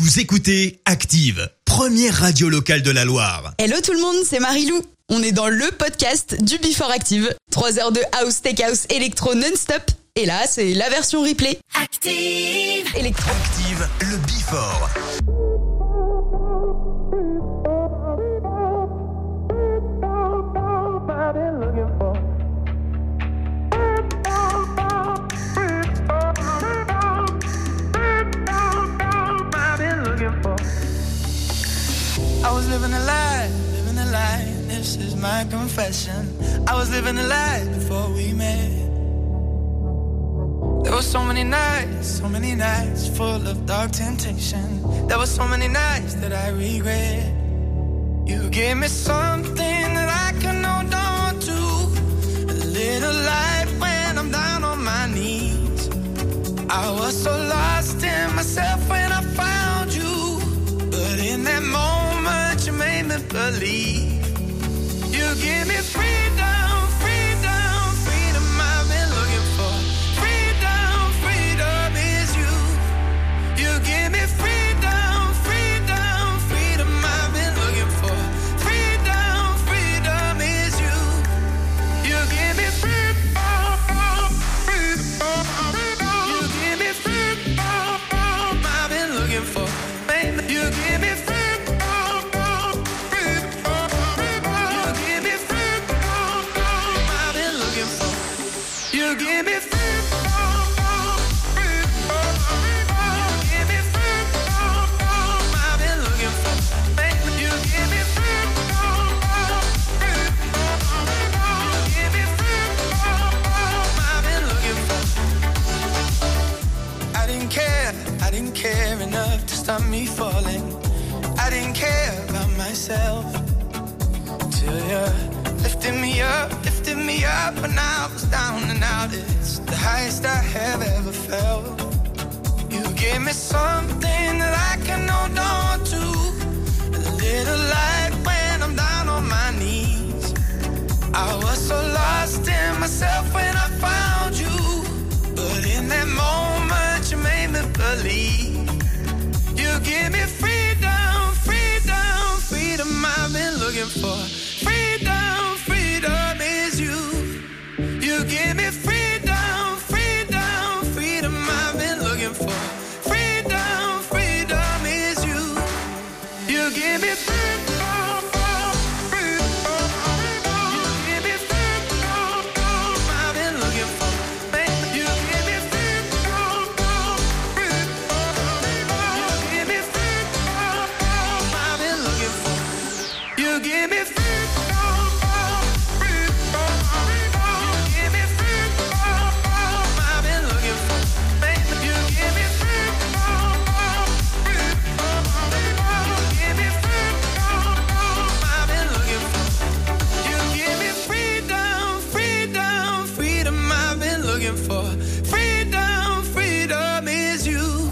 Vous écoutez Active, première radio locale de la Loire. Hello tout le monde, c'est Marilou. On est dans le podcast du Before Active. 3 heures de house, tech house, électro non-stop. Et là, c'est la version replay. Active Électro. Active, le Before. I was living a lie, this is my confession. I was living a lie before we met. There were so many nights full of dark temptation. There were so many nights that I regret. You gave me something that I can hold on to, a little light when I'm down on my knees. I was so lost in myself when I found you, but in that moment you made me believe. You give me freedom, freedom, freedom I've been looking for. Freedom, freedom is you. You give me freedom, freedom, freedom I've been looking for. Freedom, freedom is you. You give me freedom, freedom. You give me freedom I've been looking for. Baby, you give me freedom. You give me freedom, give me freedom, I've been looking for. Baby, you give me freedom, give me freedom, I've been looking for. I didn't care enough to stop me falling. I didn't care about myself till you lifted me up when I was down and out. It's the highest I have ever felt. You gave me something that I can hold on to, a little light when I'm down on my knees. I was so lost in myself when I found you, but in that moment you made me believe. You give me freedom, freedom, freedom I've been looking for. Freedom, freedom is you. You give me freedom, freedom, freedom I've been looking for. Freedom, freedom is you. You give me freedom, freedom. You give me freedom I've been looking for. Baby, you give me freedom, freedom. You give me freedom I've been looking for. You give me freedom. For freedom, freedom is you.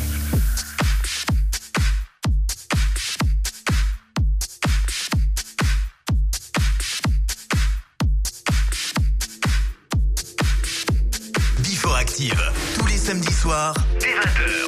Before Active, tous les samedis soirs, dès 20h.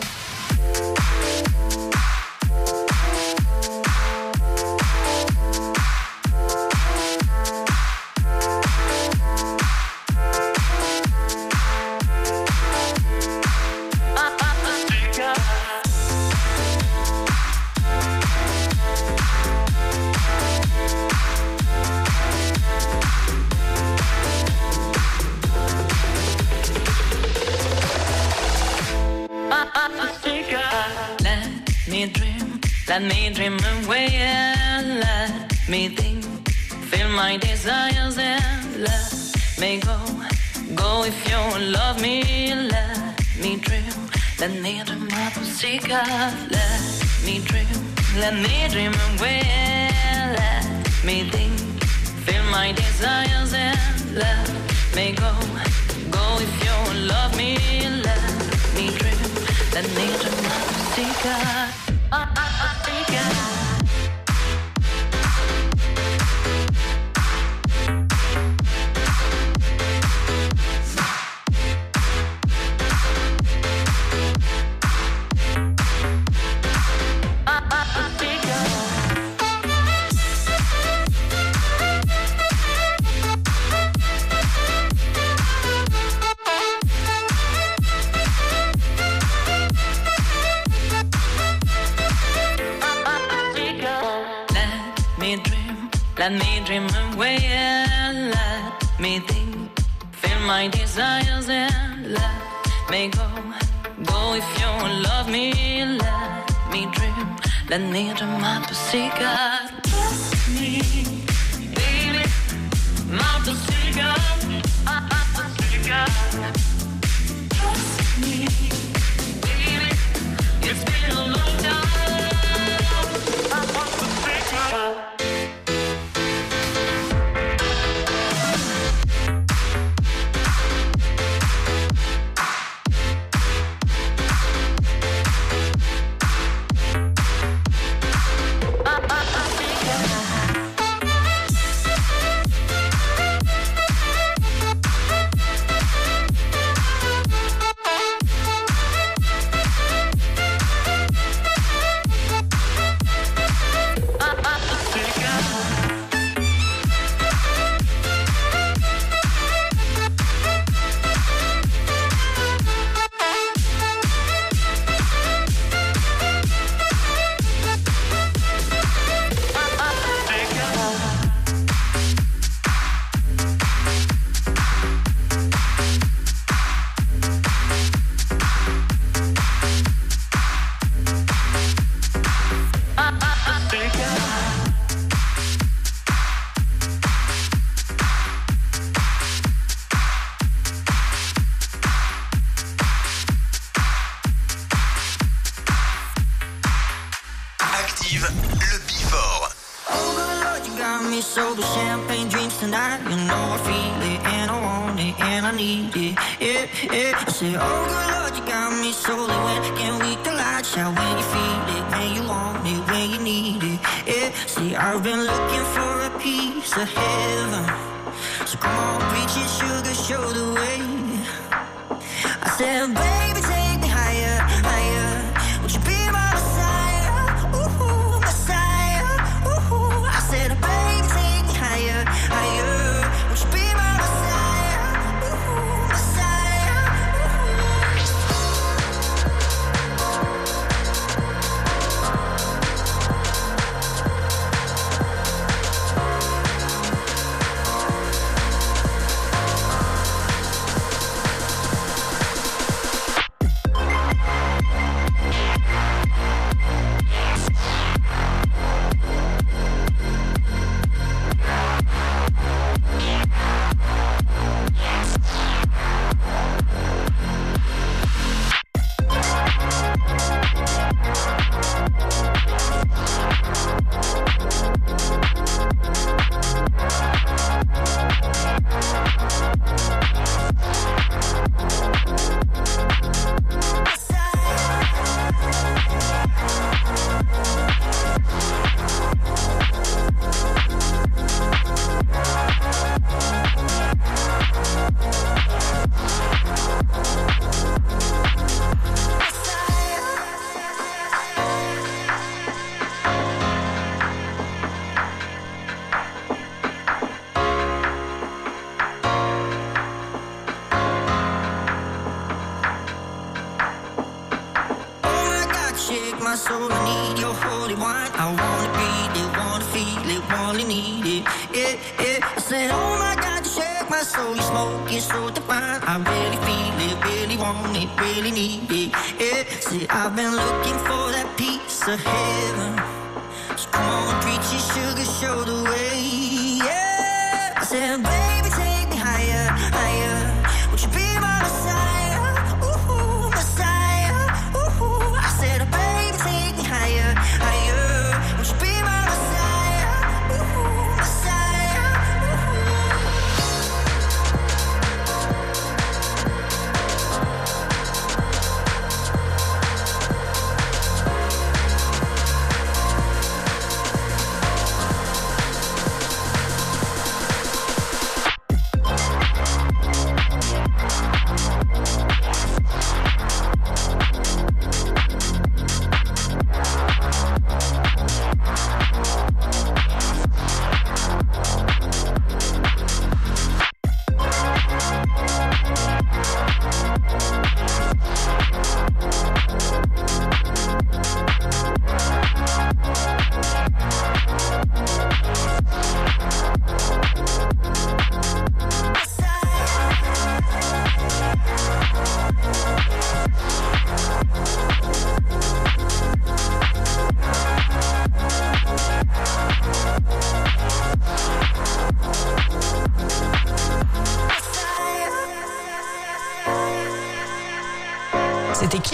Let me dream away and let me think. Feel my desires and let me go. Go if you love me, let me dream. Let me dream my pussycat. Let me dream away and let me think. Feel my desires and let me go. Go if you love me, let me dream. Let me dream my pussycat. let me dream away and let me think. Feel my desires and let me go. Go if you love me, let me dream. Let me dream my pussycat. Trust me, baby, my pussycat. Trust me, baby, it's been a long time. My pussycat. I've been looking for a piece of heaven, so come on, preach it, sugar, show the way. I said, baby, take me higher, higher. Would you be my Messiah? Ooh, Messiah. Ooh. I said, baby, take me higher, higher. Would you be my Messiah? Ooh, Messiah. soul, I need your holy wine. I wanna breathe it, wanna feel it, wanna need it. Yeah, yeah. I said, oh my God, you shake my soul. You smoke it so divine. I really feel it, really want it, really need it. Yeah. See, I've been looking for that piece of heaven. So come on, preach your sugar, show the way. Yeah. I said, baby, take me higher, higher. Would you be my Messiah? Ooh, Messiah. Ooh. I said, baby, take me higher, higher. Would you be my Messiah? Ooh, Messiah.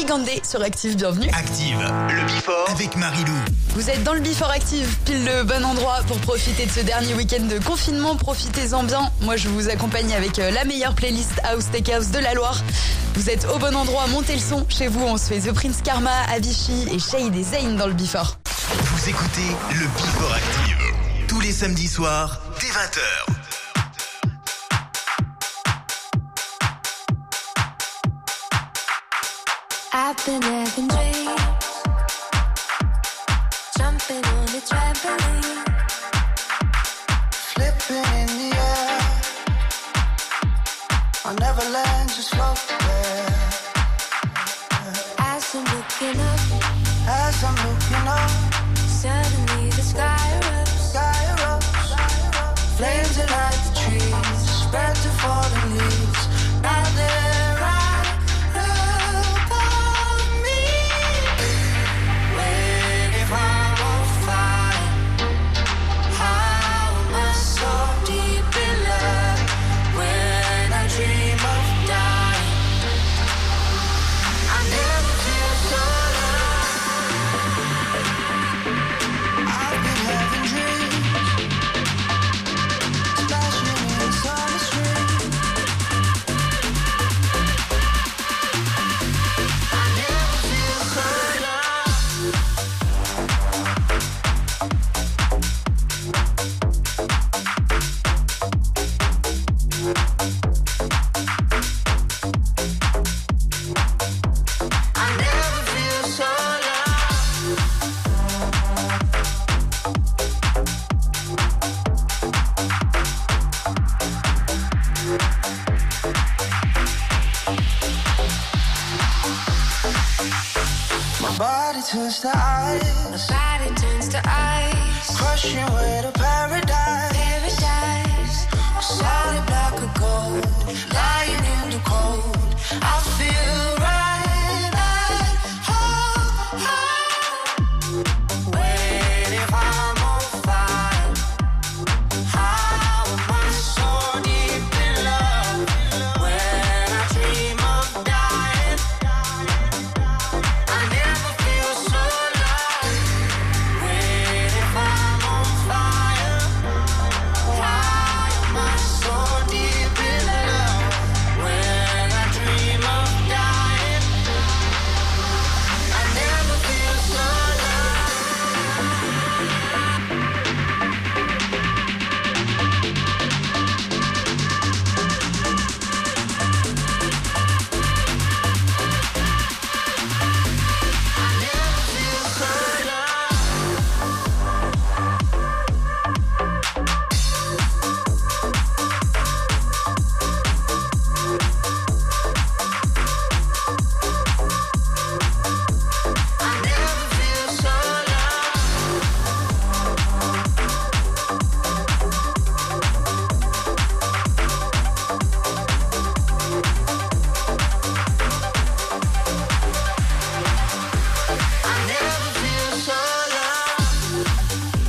Gigande sur Active, bienvenue. Active, le Before avec Marilou. Vous êtes dans le Before Active, pile le bon endroit pour profiter de ce dernier week-end de confinement. Profitez-en bien. Moi, je vous accompagne avec la meilleure playlist House Tech House de la Loire. Vous êtes au bon endroit, montez le son. Chez vous, on se fait The Prince Karma, Avicii et Shade et Zayn dans le Before. Vous écoutez le Before Active tous les samedis soirs dès 20h. I've been having dreams, jumping on the trampoline, Flipping in the air, I'll never land, just float there. as I'm looking up, As I'm looking up, suddenly the sky erupts, sky erupts, flames ignite the trees, spread to fallen leaves. Now they're right above me, waiting for a fire. How am I so deep in love when I dream of dying? I never feel so low. I've been having dreams, splashing in summer street. I never feel so low. I never feel so low. My body turns to ice, body turns to ice, crushing way to paradise. paradise, Solid black of gold, lying in the cold. I feel right at home, waiting if I'm on fire. How am I so deep in love when I dream of dying? I never feel so low, waiting if I'm on fire. Why am I so deep in love when I dream of dying? I never feel so low. I never feel so low. I never feel so low. I never feel so low.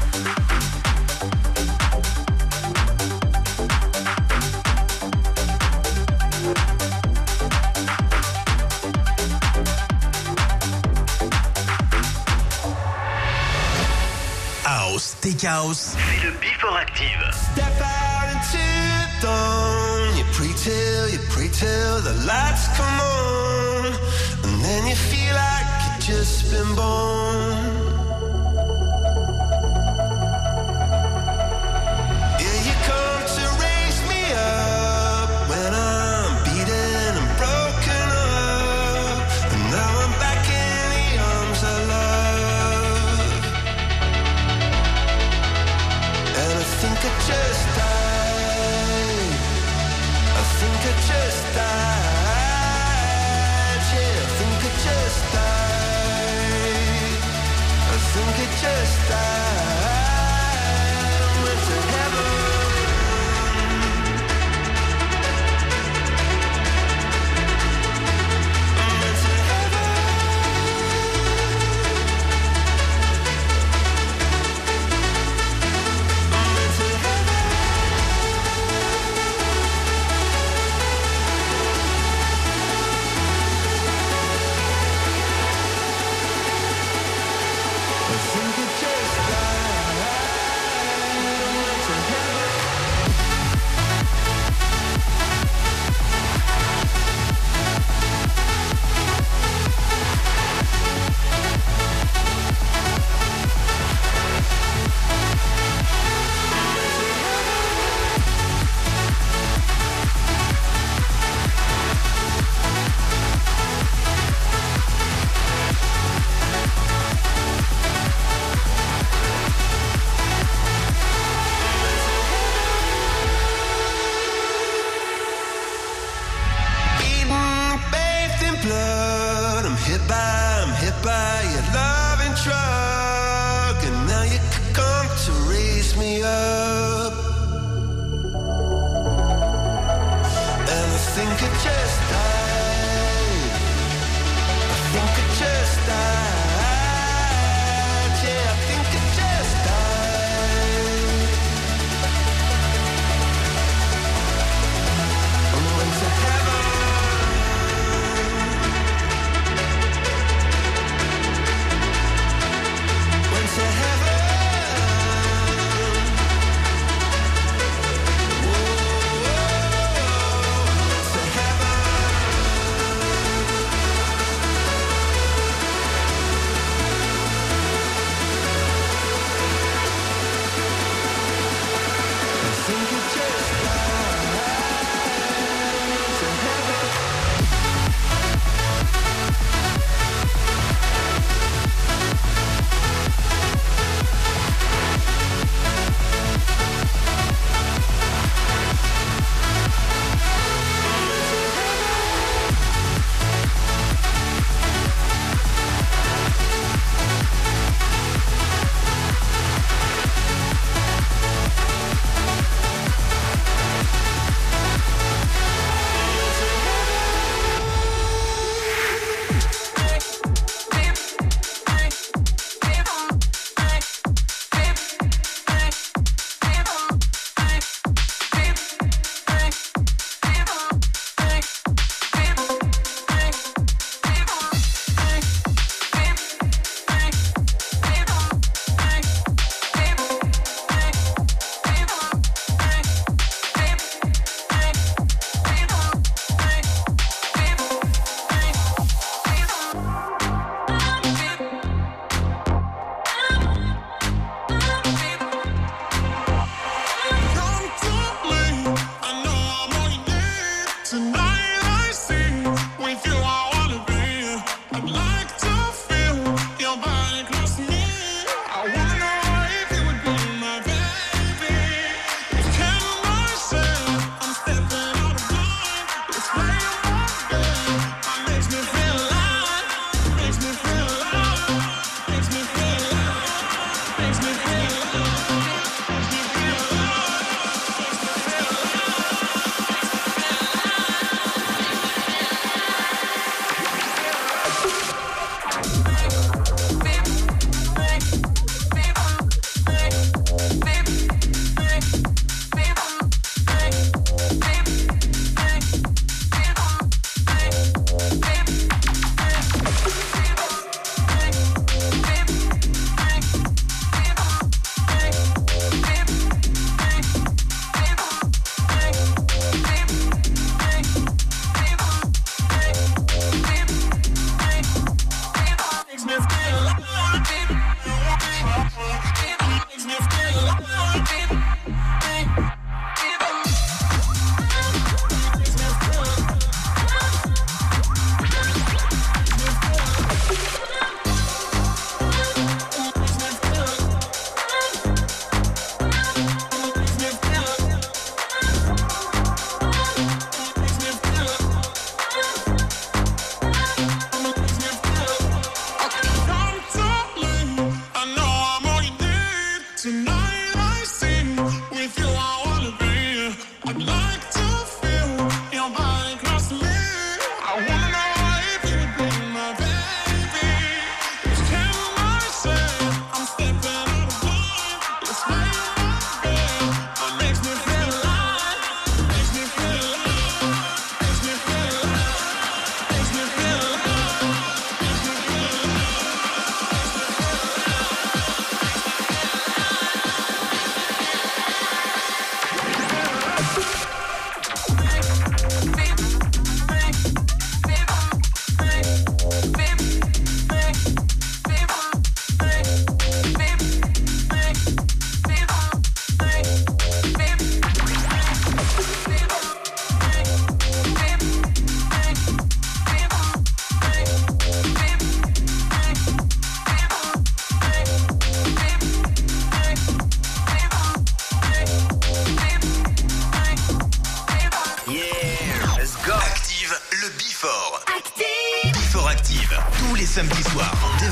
House, Tech House, c'est le Before Active. Step out into the dawn. You pray till the lights come on, and then you feel like you've just been born. Yeah, you come to raise me up when I'm beaten and broken up, and now I'm back in the arms of love. And I think I just died. I think I just died. Yeah, I think I just died.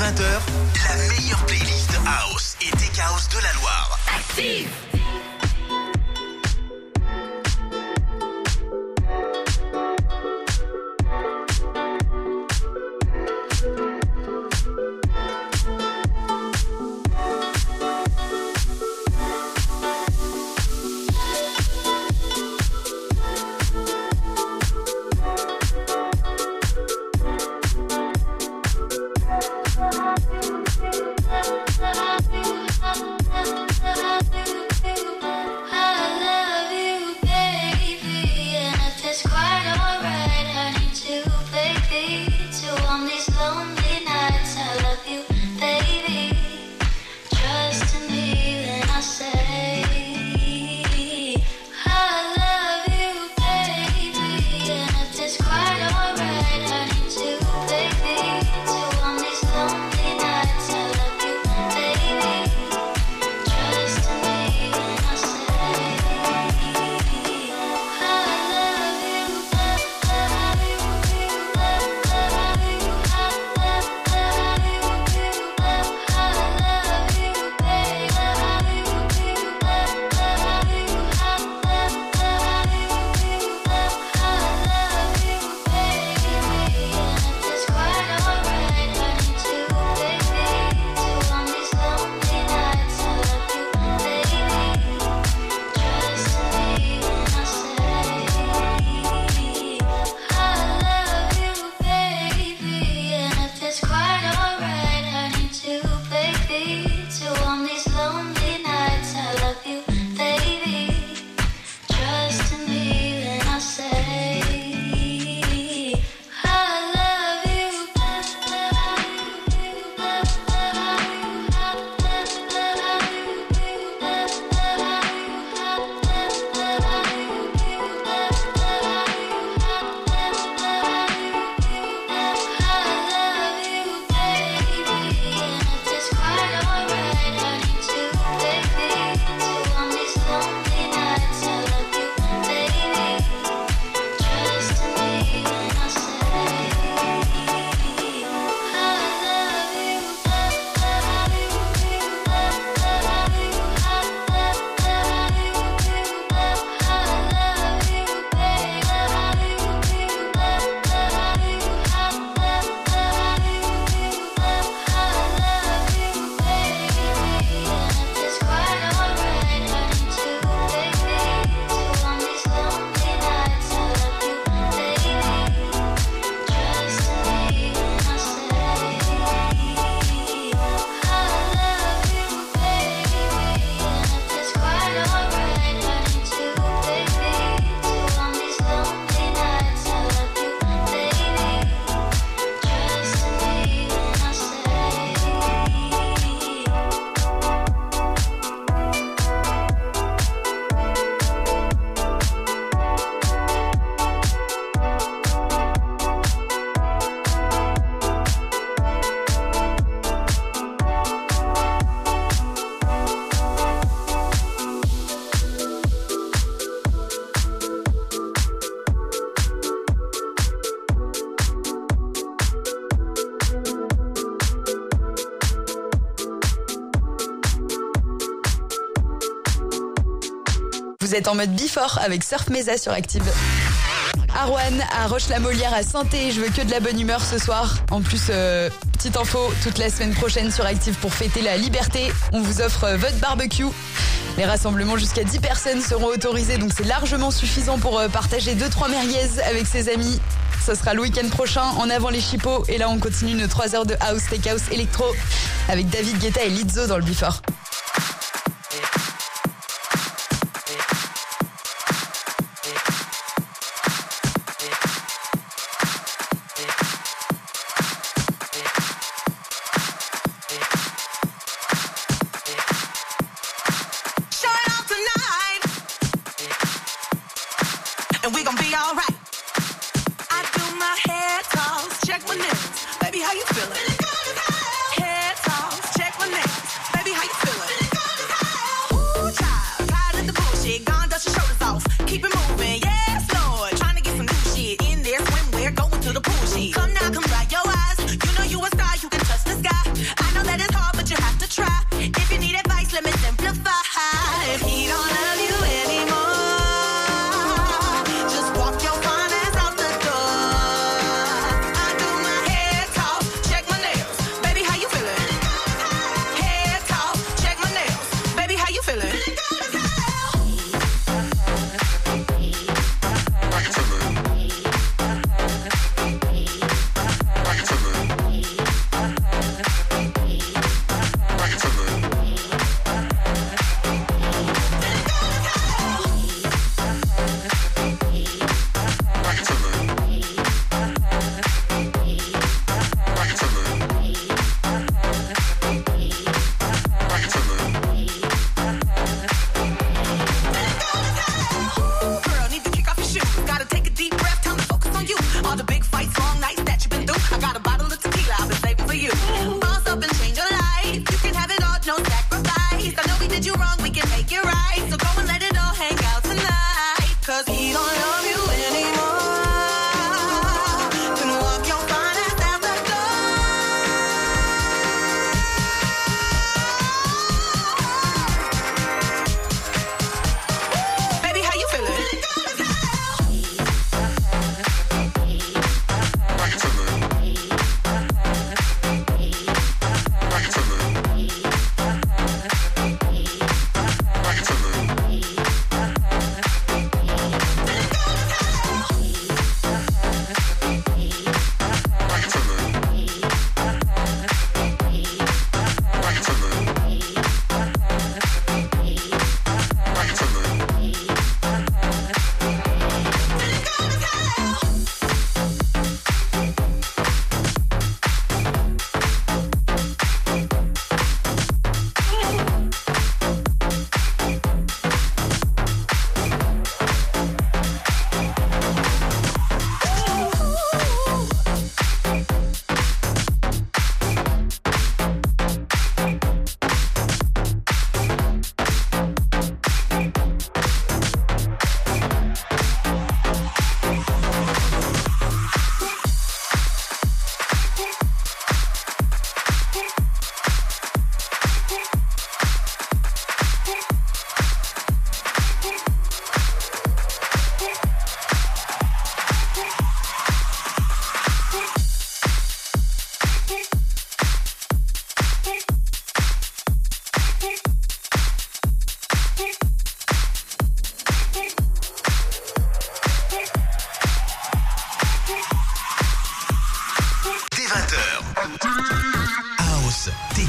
20h, la meilleure playlist house et tech house de la Loire. Active. Vous êtes en mode Before avec Surf Mesa sur Active. Arwan à Roche-la-Molière à Saint-Thé, je veux que de la bonne humeur ce soir. En plus, petite info, toute la semaine prochaine sur Active pour fêter la liberté, on vous offre votre barbecue. Les rassemblements jusqu'à 10 personnes seront autorisés, donc c'est largement suffisant pour partager 2-3 merguez avec ses amis. Ce sera le week-end prochain, en avant les chipots. Et là, on continue nos 3 heures de house, tech house, électro avec David Guetta et Lizzo dans le Before. And we gon' be alright. I do my head toss, check my nails. Baby, how you feeling? Head toss, check my nails. Baby, how you feeling?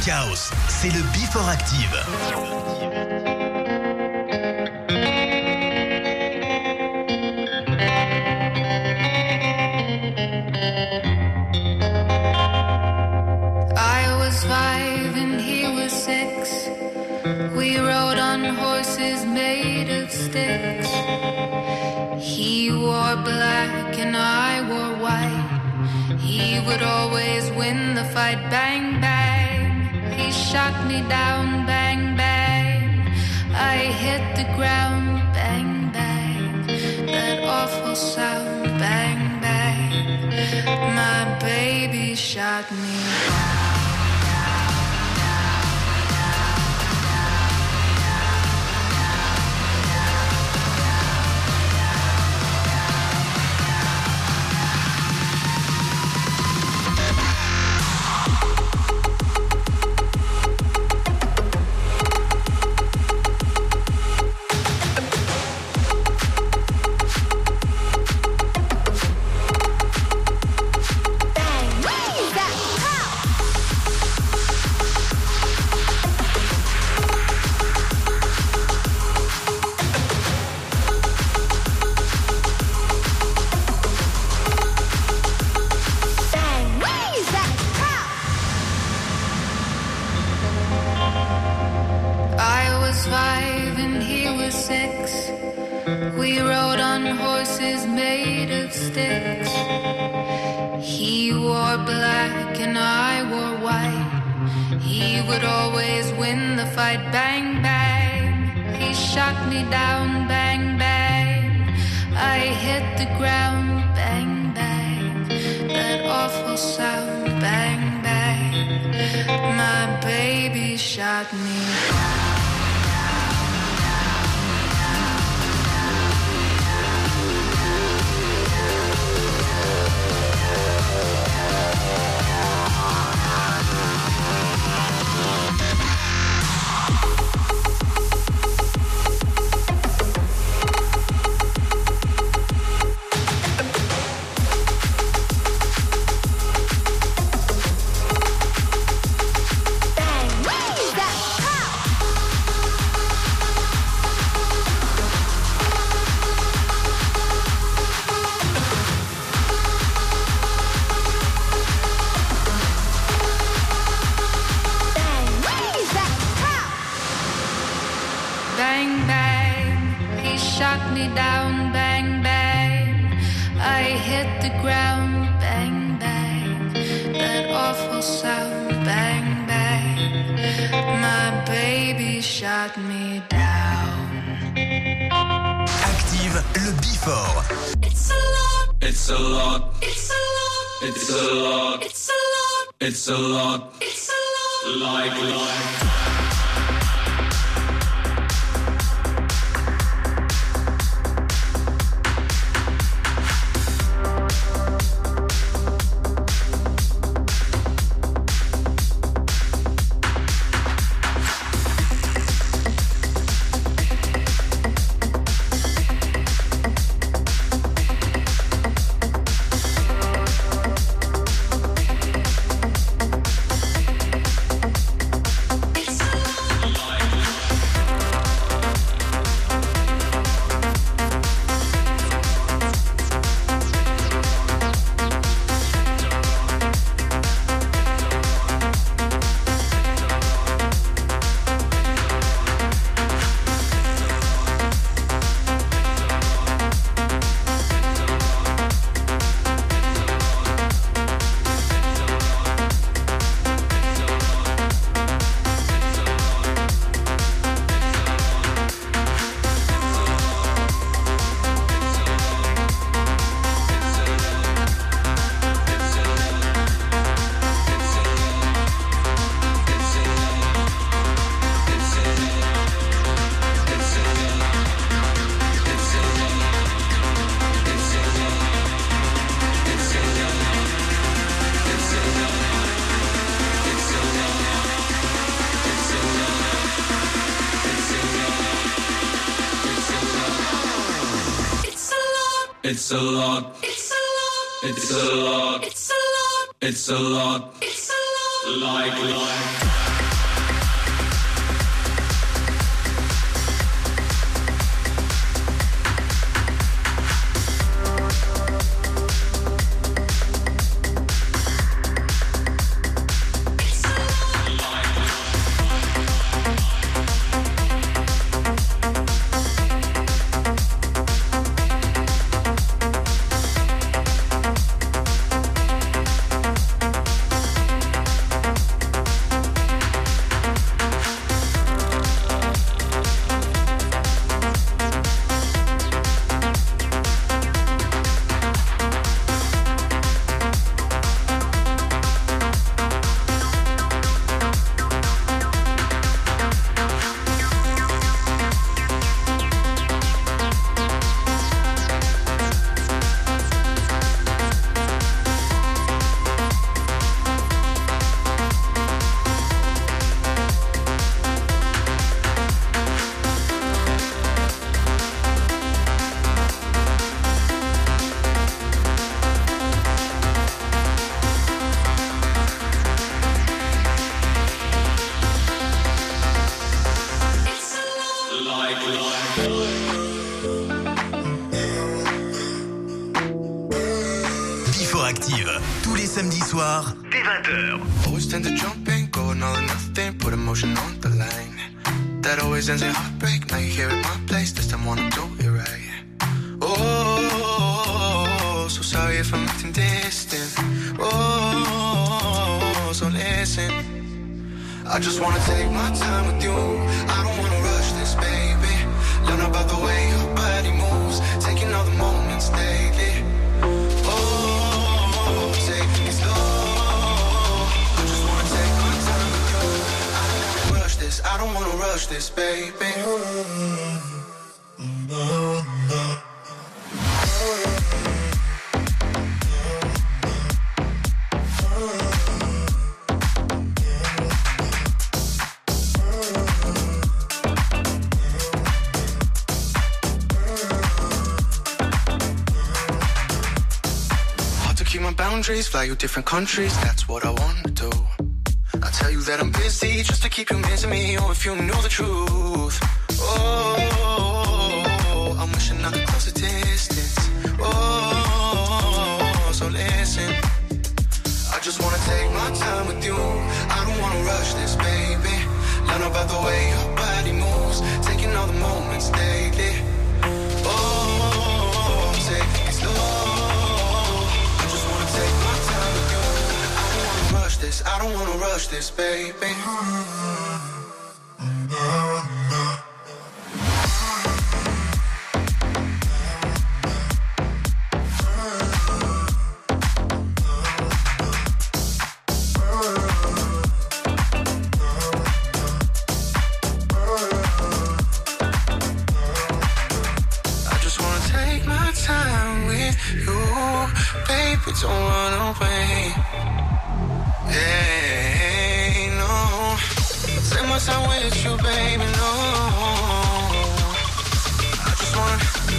Tech House, c'est le Before Active. I was 5 and he was 6. We rode on horses made of sticks. He wore black and I wore white. He would always win the fight. Bang, bang. He shot me down. Bang, bang. I hit the ground. Bang, bang. That awful sound. Bang, bang. My baby shot me down. Active le Before. It's a lot. It's a lot. It's a lot. It's a lot. It's a lot. It's a lot. It's a lot. Like. It's a lot. It's a lot. It's a lot. It's a lot. It's a lot. It's a lot. Like. samedis soirs, dès 20h. Always tend to jump in, go all or nothing, put emotion on the line. That always ends in heartbreak, now you're here at my place, this time wanna do it right. Oh, so sorry if I'm acting distant. Oh, so listen. I just wanna take my time with you. I don't wanna rush this, baby. Learn about the way your body moves, taking all the moments daily. Oh, take it slow. I just wanna take my time with you. I don't wanna rush this, I don't wanna rush this, baby. Boundaries, fly you different countries, that's what I wanna do. I tell you that I'm busy just to keep you missing me. Oh, if you knew the truth. Oh, I'm wishing I could close the distance. Oh, so listen. I just wanna take my time with you. I don't wanna rush this, baby. Learn about the way your body moves, taking all the moments daily. Oh, take it slow. I don't wanna rush this, baby. I just wanna take my time with you, baby, don't run away. Hey, no. Take my time with you, baby, no. I just wanna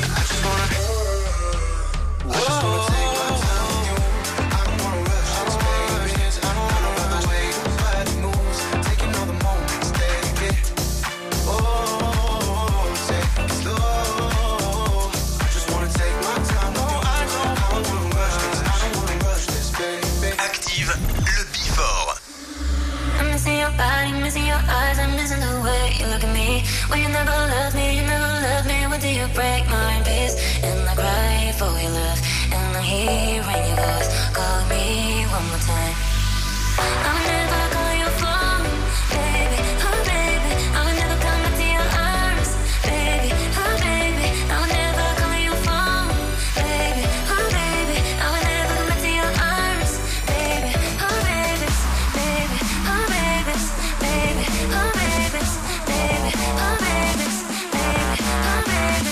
take my time with you. I don't wanna rush this, baby. I don't wanna run away. Nobody moves, taking all the moments, take it. Oh, take it slow. I just wanna take my time with you. I don't wanna rush this. I don't wanna rush this, baby. Active le Before. I'm missing your body, missing your eyes, I'm missing the way you look at me. Well, you never loved me, you never loved me. When do you break my peace? And I cry for your love, and I hear in your voice, call me one more time. I would never call your phone, baby, oh baby. I would never come back to your arms, baby, oh baby. I would never call your phone, baby, oh baby. I would never come back to your arms, baby, oh baby, baby, oh baby, baby, oh baby, baby, oh baby, baby, oh baby,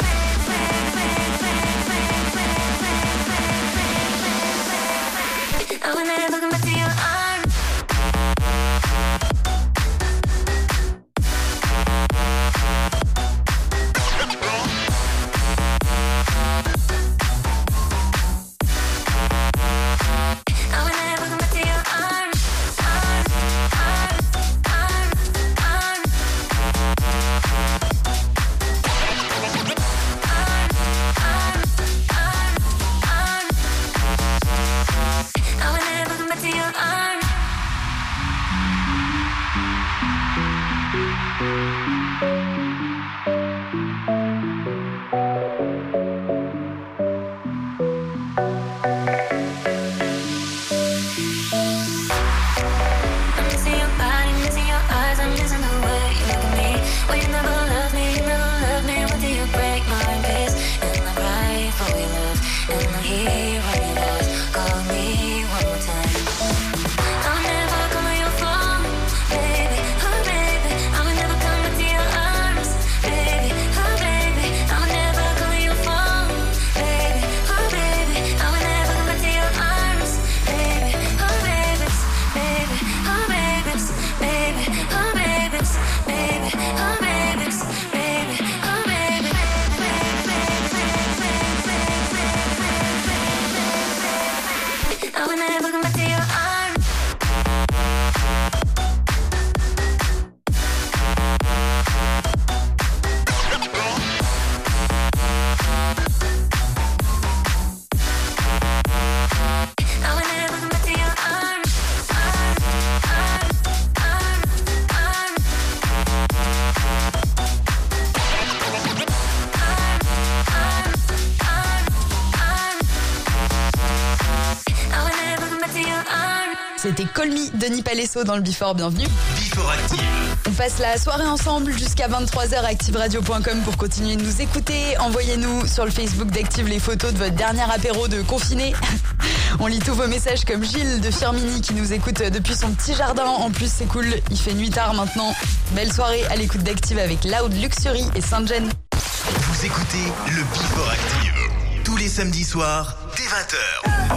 I would never come back to your arms. Baby, oh baby, I would never come back to your arms. c'était Call Me de Nipalesso dans le Before, bienvenue. Before Active. On passe la soirée ensemble jusqu'à 23h, activeradio.com pour continuer de nous écouter. Envoyez-nous sur le Facebook d'Active les photos de votre dernier apéro de confiné. On lit tous vos messages comme Gilles de Firmini qui nous écoute depuis son petit jardin. En plus, c'est cool, il fait nuit tard maintenant. Belle soirée à l'écoute d'Active avec Loud Luxury et Saint-Gen. Vous écoutez le Before Active. Tous les samedis soirs, dès 20h.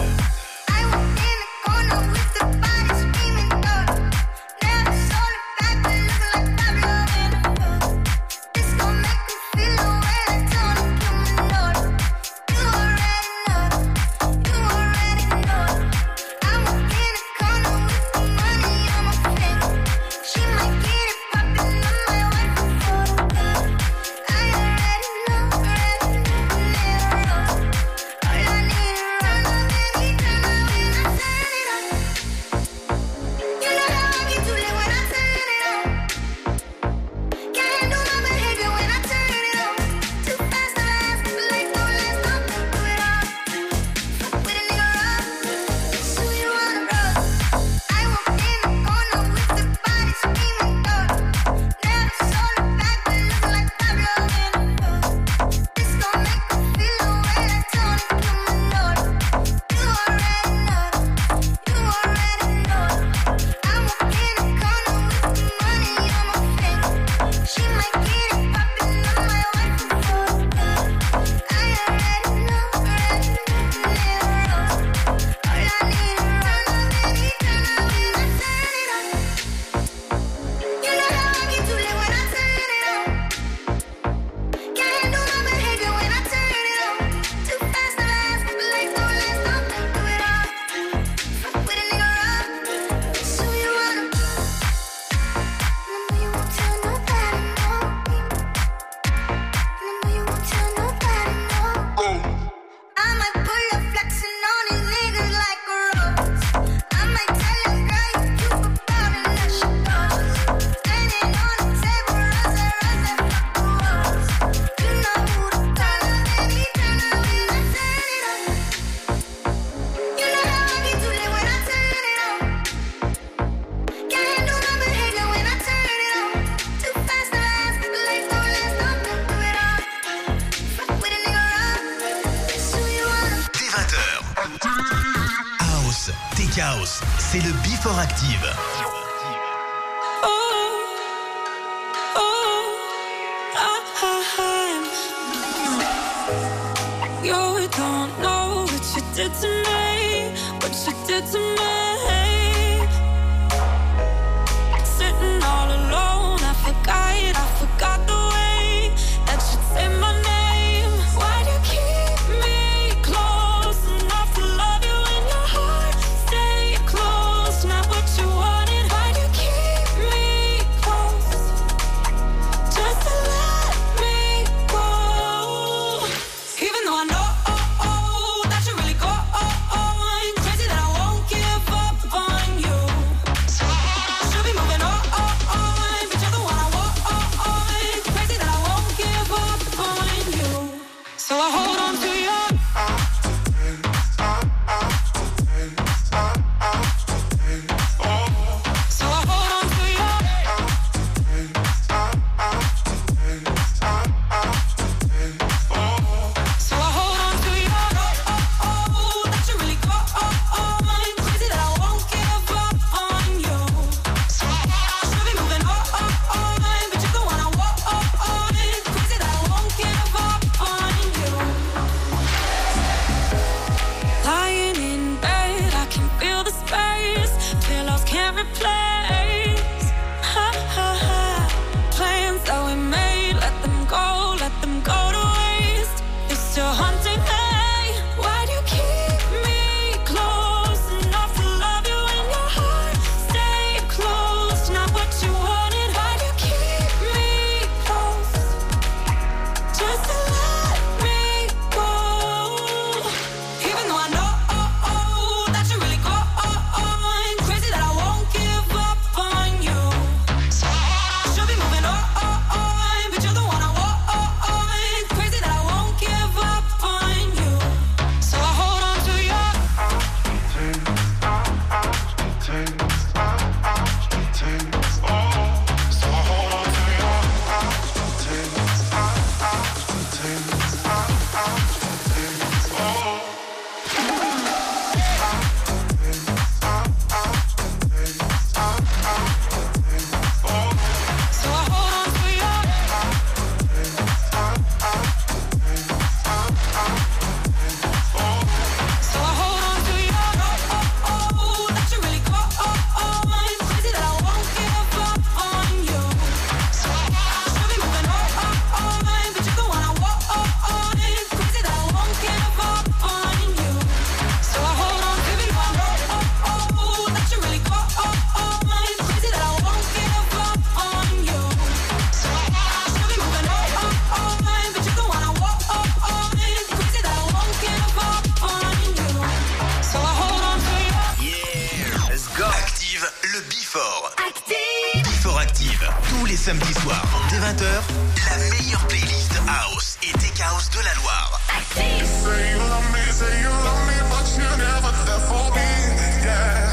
C'est le Before Active. You don't know what you did to me, what you did to me. Sitting all alone, I forgot the way that you say my name. Why do you keep me close enough to love you in your heart? Stay close, not what you wanted. Why do you keep me close, just to let me go? Even though I know that you really go crazy, that I won't give up. Tous les samedis soirs, dès 20h, la meilleure playlist House et Tech House de la Loire. Say you love me, but you never there for me, yeah.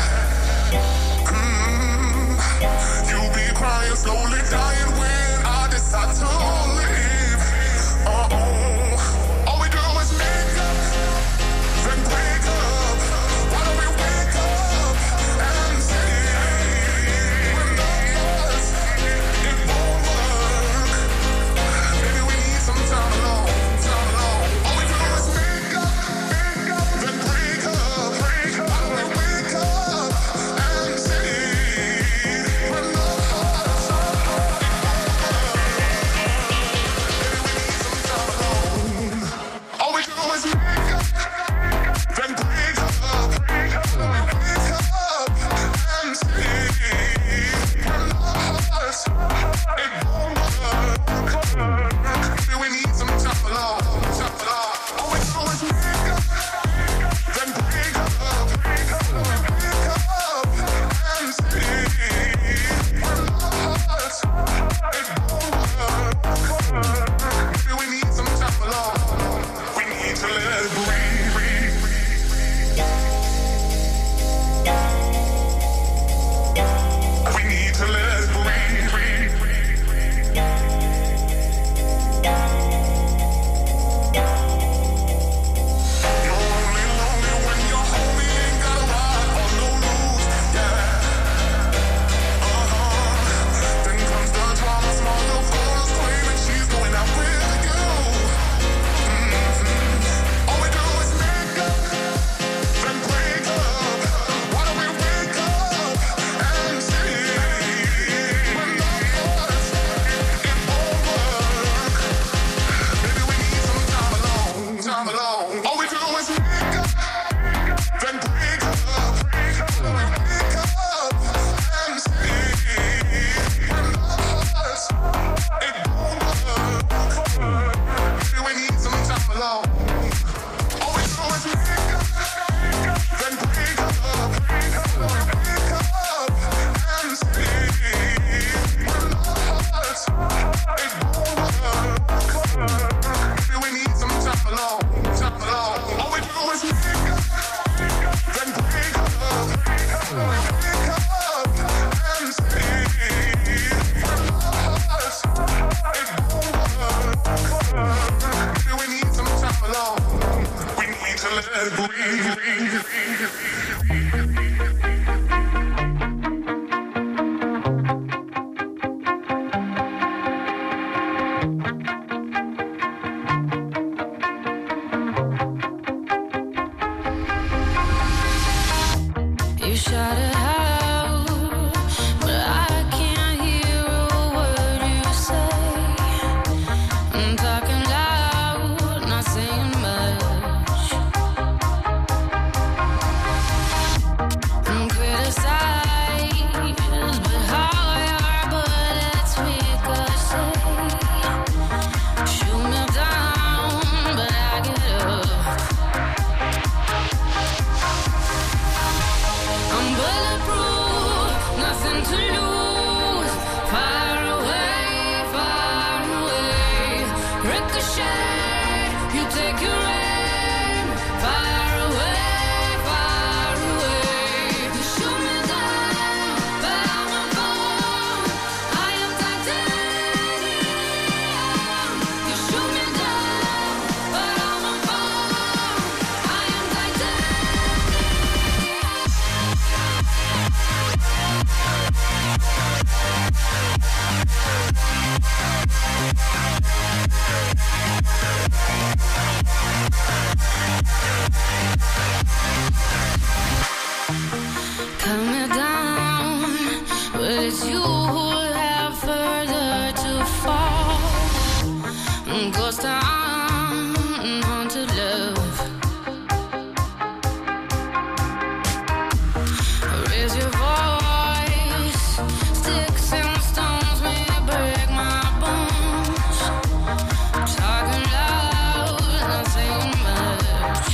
You be crying, slowly dying when I decide to leave. All we do is make up, then break up. Why don't we wake up and see we're not yours, it won't work. Maybe we need some time alone, time alone. All we do is make up, then break up. Why don't we wake up and see we're not yours, it won't work. Maybe we need some time alone. All we do is make up, then break up. Wake up and see we're not yours, it won't work. Maybe we need some time alone, time alone. All we do is make up, then break up. Wake up and see we're not yours, it won't work. Maybe we need some time alone. We need to let it breathe. We need to let it breathe. You're only lonely when your homie ain't got a ride or no news, yeah. Then comes the drama, small little photos claiming she's going out with you. All we do is make up, then break up. Why don't we wake up and see we're not yours, it won't work. Maybe we need some time alone, time alone. All we do is make up, then break up. Why don't we wake up and see we're not yours, it won't work. Maybe we need some time alone. All we do is make up, then break up. Why don't we wake up and see we're not yours, it won't work. Maybe we need some time alone, time alone. All we do is make up, then break up. Why don't we wake up and see we're not yours, it won't work. Maybe we need some time alone. We need to let it breathe. You shout it out, but I can't hear a word you say. I'm talking loud, not saying much. I'm criticized, but how your bullets ricochet. Shoot me down, but I get up. I'm bulletproof, nothing to lose. Far away, ricochet. You take your aim. Far away. You shoot me down, but I won't fall. I am titanium. You shoot me down, but I won't fall. I am titanium. Cut me down, but it's you who have further to fall. Ghost town, haunted love. Raise your voice, sticks and stones may break my bones. Talking loud, not saying much.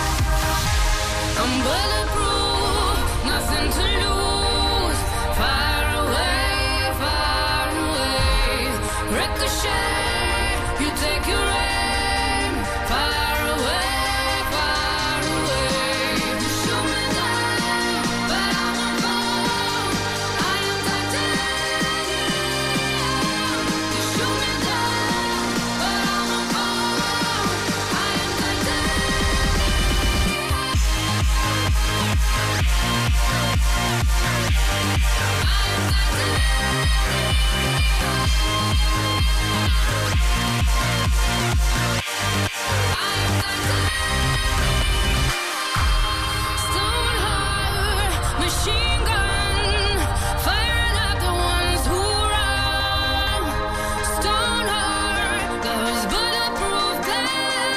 I'm bulletproof, nothing to lose. Fire Stone heart, machine gun, firing at the ones who run. Stone heart, those bulletproof glass.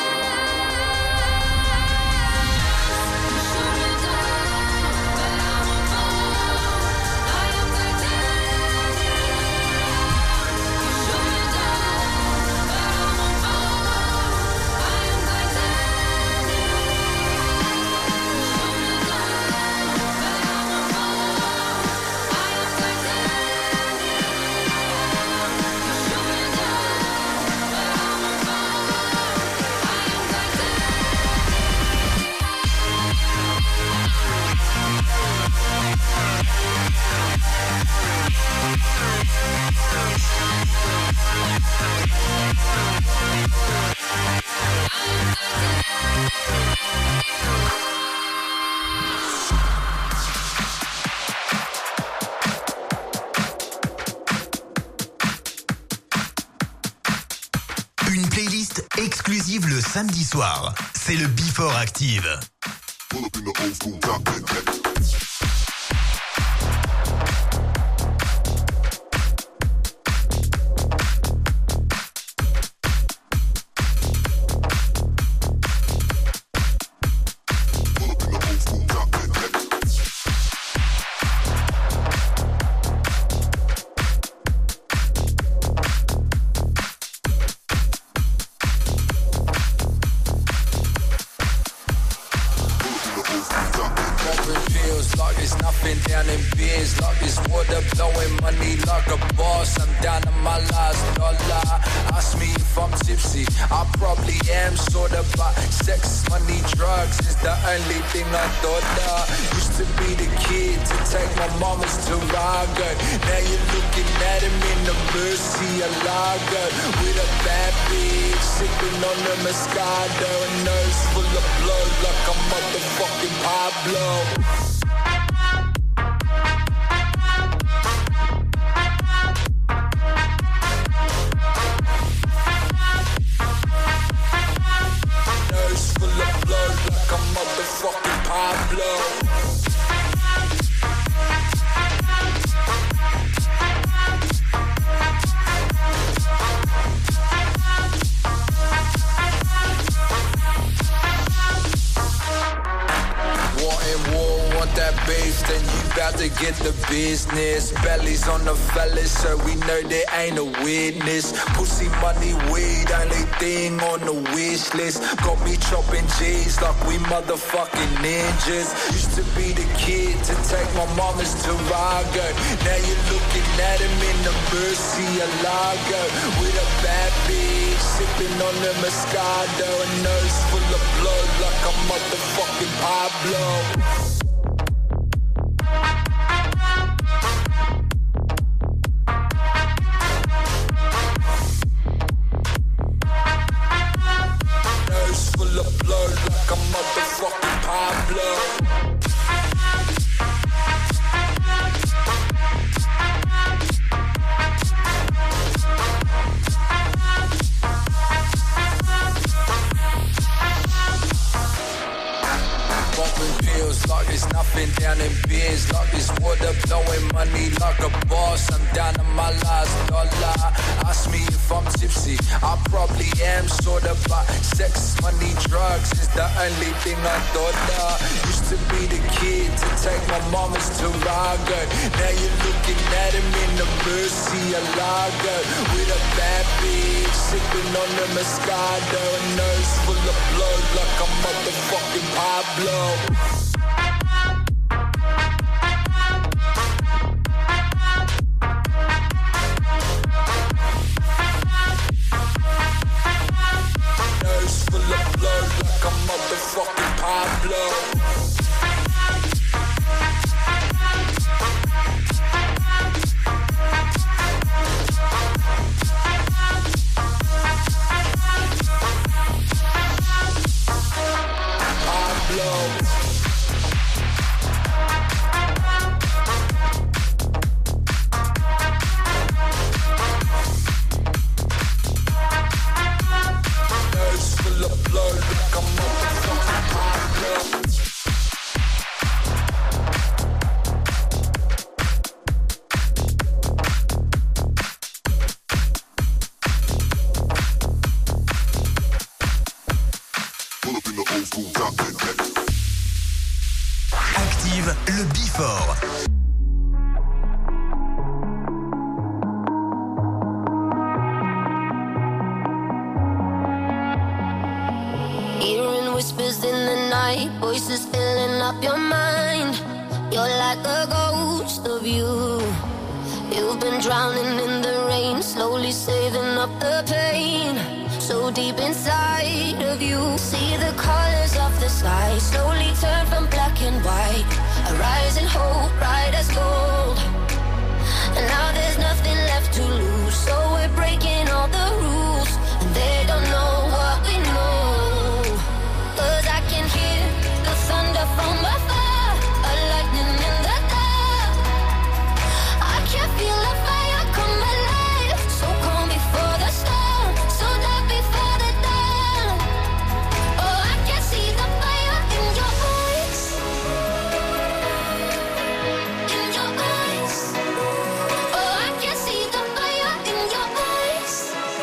Shoot me down, but I won't fall. I am titanium. Shoot me down, but I won't fall. I am Une playlist exclusive le samedi soir. C'est le Before Active. Pull up in the old school top. Popping pills like it's nothing down in beers, like it's water blowing money like a boss. I'm down to my last dollar. Ask me if I'm tipsy, I probably am sorta, but sex, money, drugs is the only thing I thought of. Used to be the kid to take my mama's Tarago. Now you're looking at him in the Murcielago with a bad bitch sipping on the Moscato, a nose full of blood like a motherfucking Pablo. Nose full of blood like a motherfucking Pablo. Want that beef, then you bout to get the business. Bellies on the fellas, so we know there ain't a witness. Pussy, money, weed, only thing on the wish list. Got me chopping G's like we motherfucking ninjas. Used to be the kid to take my mama's Tarago. Now you're looking at him in the Murcielago with a bad bitch sipping on the Moscato, a nose full of blood like a motherfucking Pablo. Full of blood like a motherfucking Pablo. Popping pills like it's nothing down in beers, like it's water blowing money like a boss. I'm down to my last dollar. Ask me if I'm tipsy, I probably am sorta, but sex, money, drugs is the only thing I thought of. Used to be the kid to take my mama's Tarago. Now you're looking at him in the Murcielago with a bad bitch sipping on the Moscato, a nose full of blood like a motherfucking Pablo. Nose full of blood like a motherfucking Pablo. voices filling up your mind. You're like a ghost of you. You've been drowning in the rain, slowly saving up the pain. So deep inside of you, see the colors of the sky slowly turn from black and white. A rising hope, bright as gold. And now there's nothing left to lose, so we're breaking all the rules. And they don't know what we know. 'Cause I can hear the thunder from afar, a lightning in the dark. I can feel the fire come alive, so calm before the storm, so dark before the dawn. Oh, I can see the fire in your eyes, in your eyes. Oh, I can see the fire in your eyes,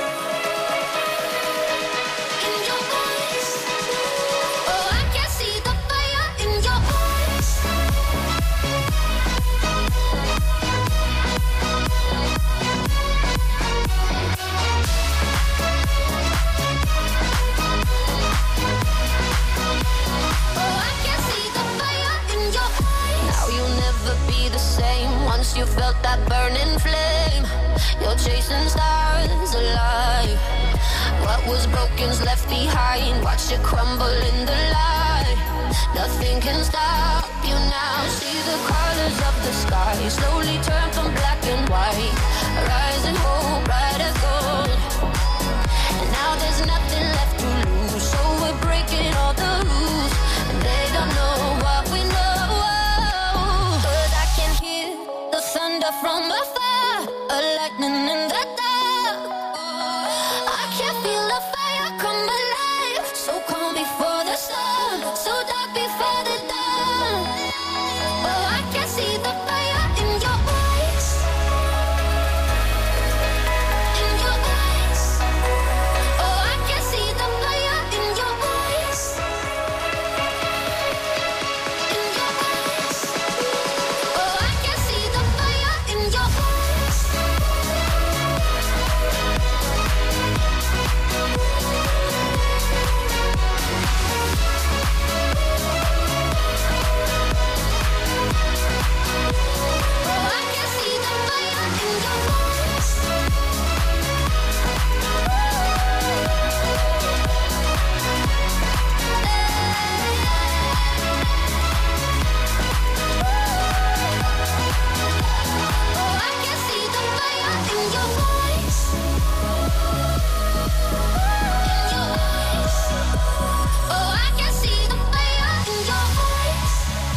in your eyes. Oh, I can see the fire in your eyes. Oh, I can see the fire in your eyes. Now you'll never be the same once you felt that burning flame. You're chasing stars alive. What was broken's left behind. Watch it crumble in the light. Nothing can stop you now. See the colors of the sky slowly turn from black and white. Rising hope, bright as gold. And now there's nothing left to lose, so we're breaking all the rules. And they don't know what we know. 'Cause I can hear the thunder from afar, a lightning in the dark. I can feel the fire come alive, so calm before the storm, so dark before the dawn. Oh, I can see the fire in your eyes, in your eyes. Oh, I can see the fire in your eyes, in your eyes. Oh, I can see the fire in your eyes. Oh, I can see the fire in your eyes. Oh, I can see the fire in your eyes. In your eyes. Oh, I can see the fire in your eyes.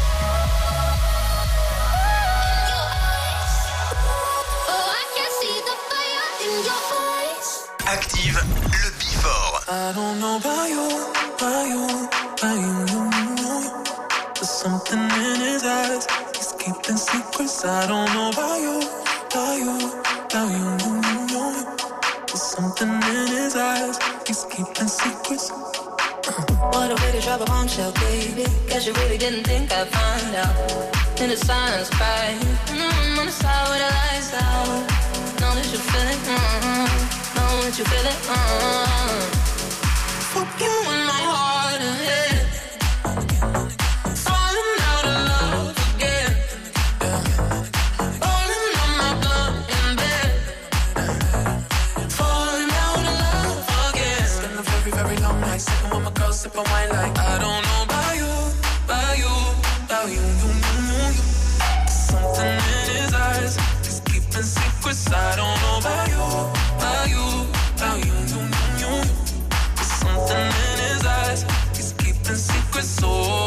In your eyes. Oh, I can see the fire in your eyes. Active le Before. I don't know about you, about you, about you. There's something in his eyes. He's keeping secrets. I don't know about you, about you, about you. There's something in his eyes. He's keeping secrets. What a way to drop a bombshell, baby. Guess you really didn't think I'd find out. In the silence, cry. On the side where the lights out. Know that you feel it. Know that you feel it. Fuck you in my heart and head. Falling out of love again. Rolling on my blunt in bed. Falling out of love again. Spend a very, very long night sitting with my girl, sipping wine like I don't know about you, about you, about you. Something in his eyes, he's keeping secrets. I don't know about you, about you, about you. Something in his eyes, he's keeping secrets. Oh.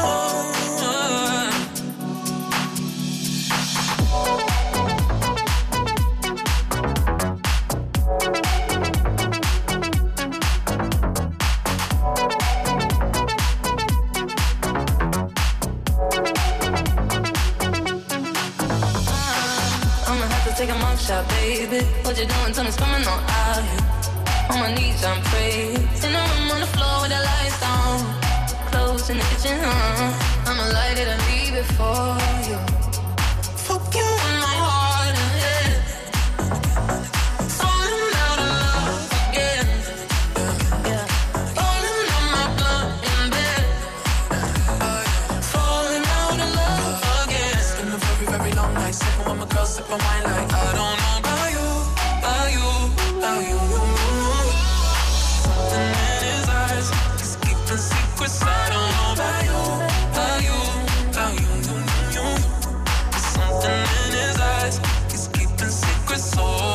I'ma have to take a mug shot, baby. What you doing? Tell me it's coming on out here. On my knees, I'm praying. In the room on the floor with the lights down. Clothes in the kitchen, I'ma light it and leave it for you. Fuck you in my heart and head. Falling out of love again. Yeah. Rolling on my blunt in bed. sip and wine like I don't know about you, about you, about you. Something in his eyes, he's keeping secrets. I don't know about you, about you, about you. There's something in his eyes, he's keeping secrets.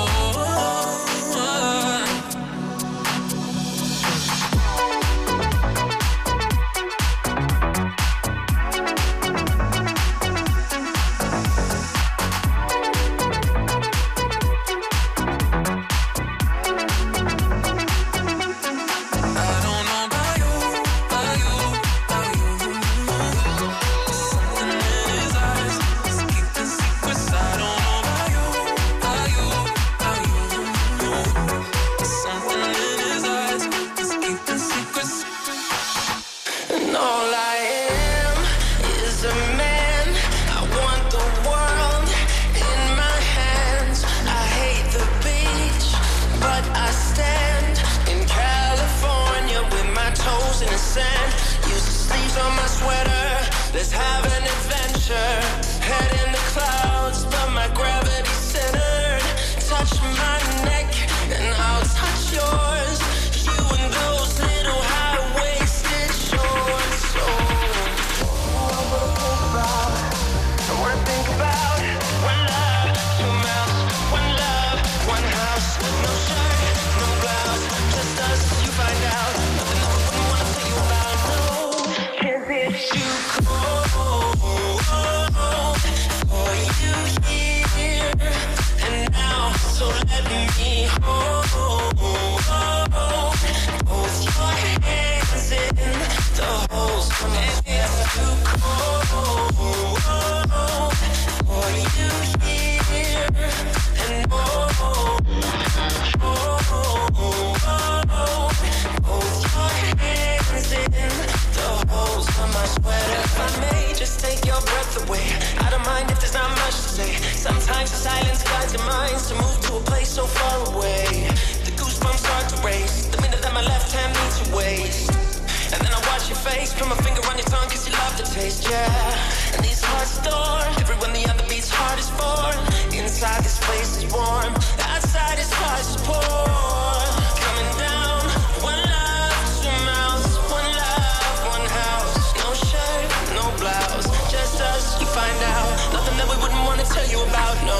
Let's have an adventure. Head in the clouds, but my gravity centered. Touch my neck, and I'll touch yours. You and those little high-waisted shorts. I wanna think about one love, two mouths, one love, one house. No shirt, no blouse, just us. You find out nothing I wouldn't wanna tell you about. No, 'cause it's you. So let me hold both your hands in the holes. And it's too cold for you here. And both your hands in the holes of my sweater. If I may just take your breath away, I don't mind if there's not much to say. Sometimes the silence guides your minds to move to a place so far away. The goosebumps start to race the minute that my left hand meets your waist. And then I watch your face, put my finger on your tongue 'cause you love the taste, yeah. And these hearts adore everyone the other beats heart is for. Inside this place is warm, outside his heart is poor. Coming down, one love, two mouths, one love, one house. No shirt, no blouse, just us, you find out. Nothing that we wouldn't want to tell you about, no.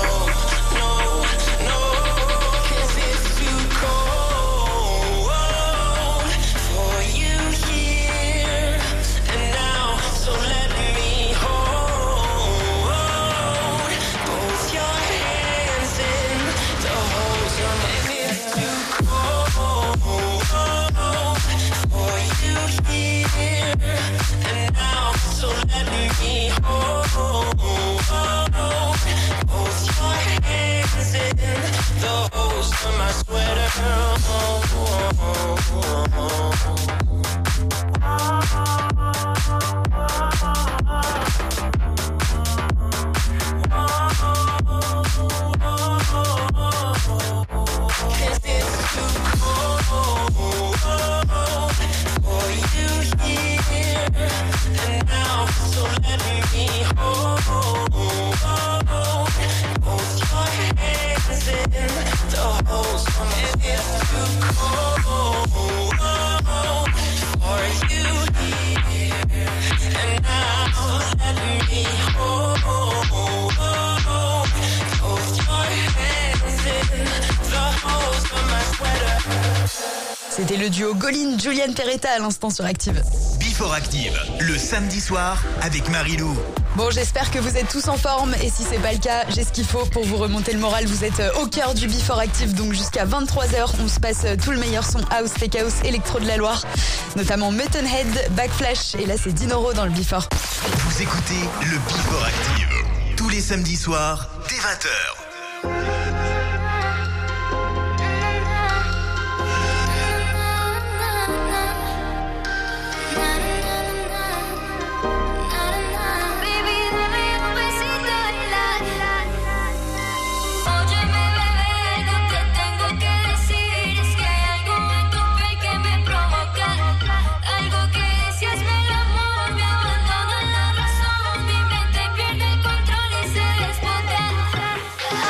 C'était le duo Goline, Julian Peretta à l'instant sur Active. Before Active, le samedi soir avec Marilou. Bon, j'espère que vous êtes tous en forme et si c'est pas le cas, j'ai ce qu'il faut pour vous remonter le moral. Vous êtes au cœur du Before Active, donc jusqu'à 23h, on se passe tout le meilleur son house, tech house, électro de la Loire, notamment Mutton Head, Backflash et là c'est Dinoro dans le Before. Vous écoutez le Before Active tous les samedis soirs dès 20h. I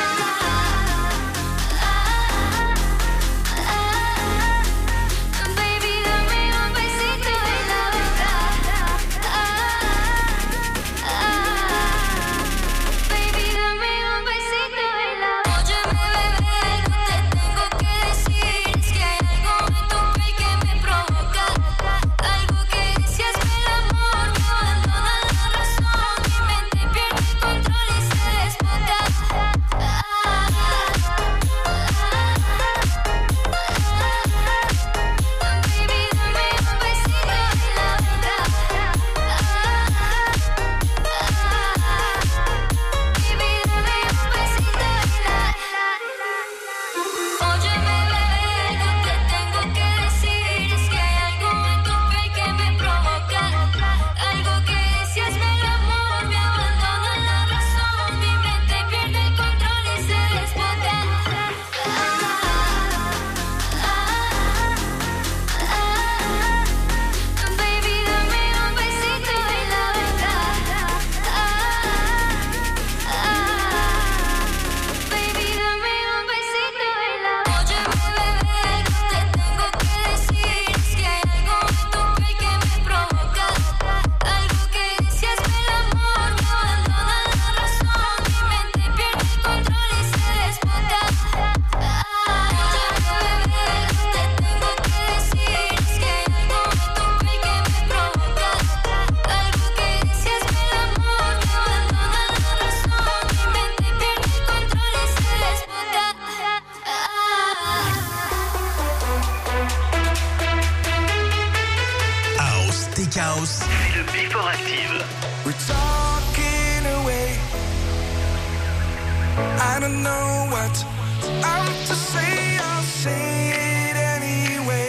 wanna know what I'm to say, I'll say it anyway.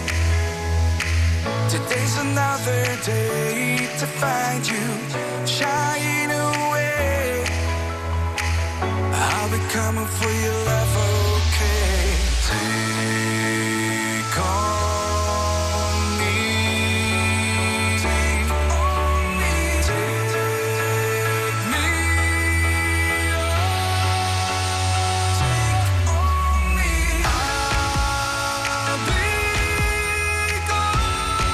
Today's another day to find you shying away. I'll be coming for your love, okay? Take on me. Take on me. Take me. Take on me. I'll be gone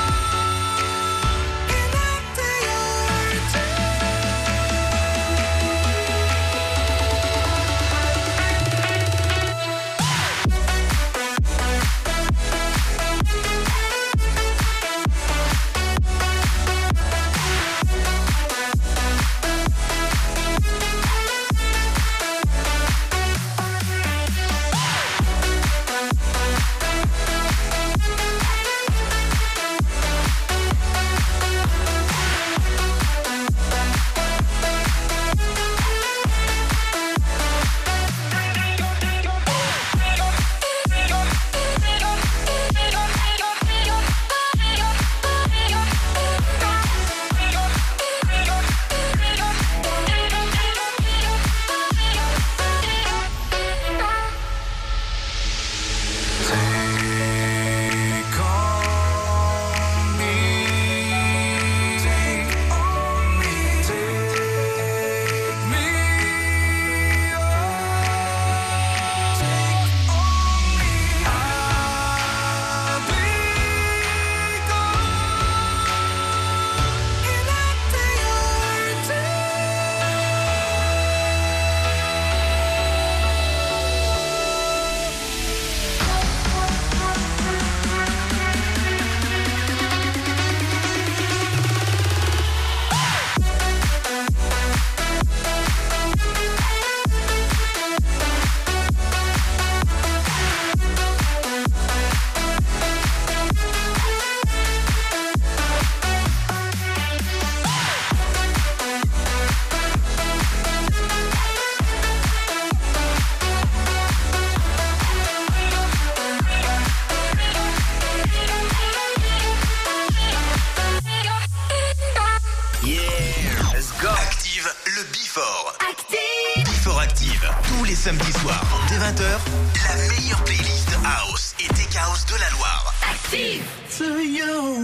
in a day or two. Tous les samedis soirs, dès 20h, la meilleure playlist House et Tech House de la Loire. Active to you.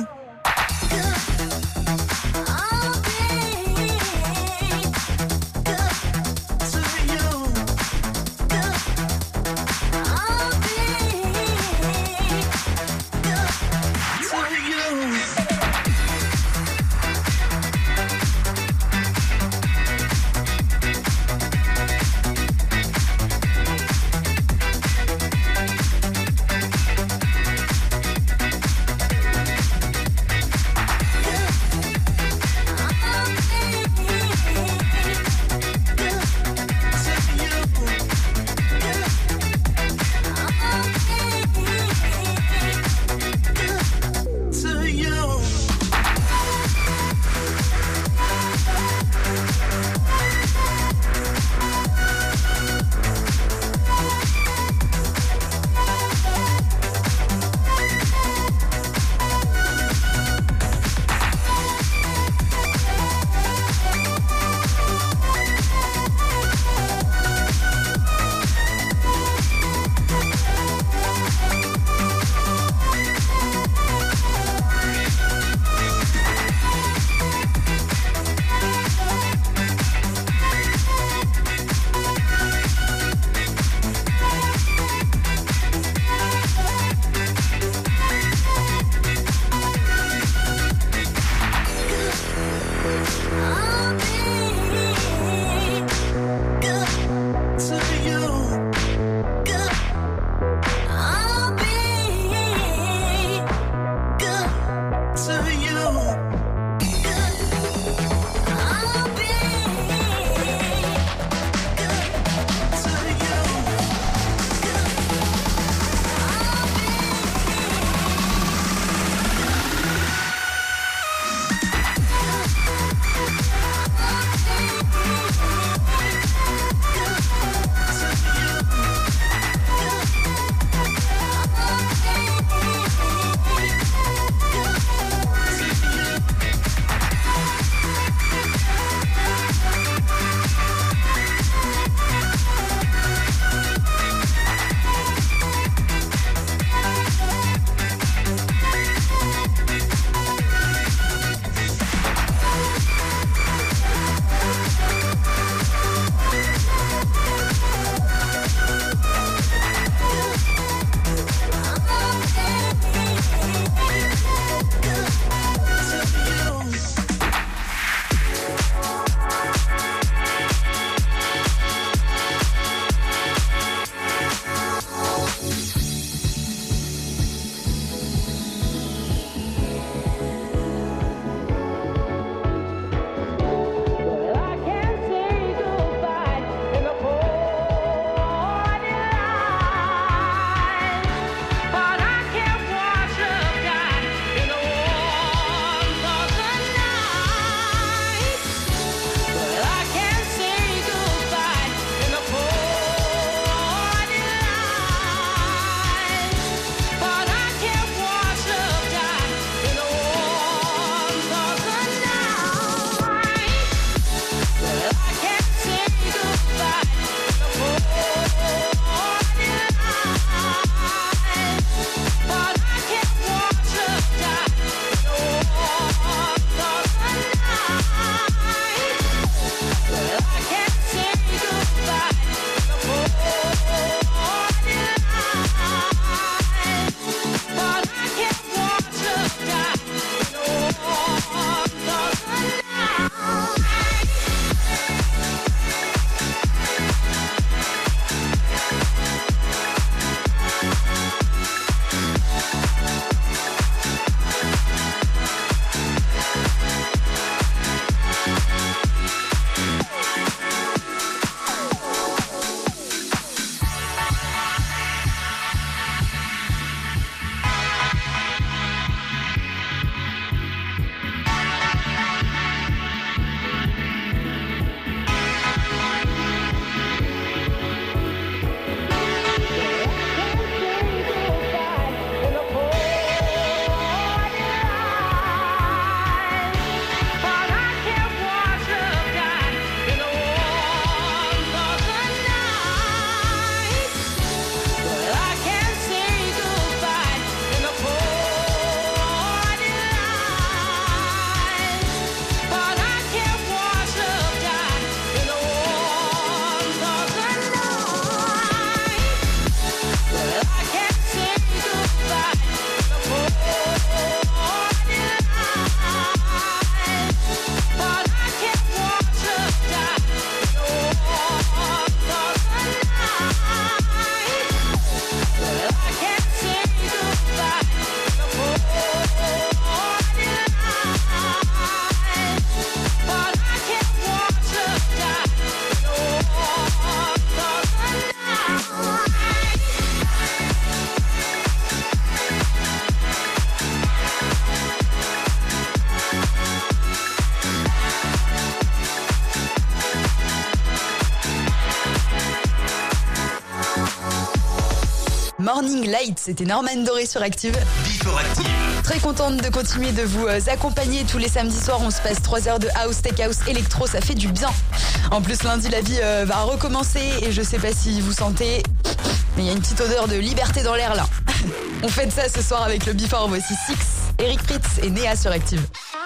Morning Light, c'était Norman Doré sur Active. Before Active. Très contente de continuer de vous accompagner tous les samedis soirs. On se passe 3 heures de house, tech house, électro, ça fait du bien. En plus, lundi, la vie va recommencer et je sais pas si vous sentez, mais il y a une petite odeur de liberté dans l'air là. On fête ça ce soir avec le Before. Voici Six, Eric Fritz et Néa sur Active.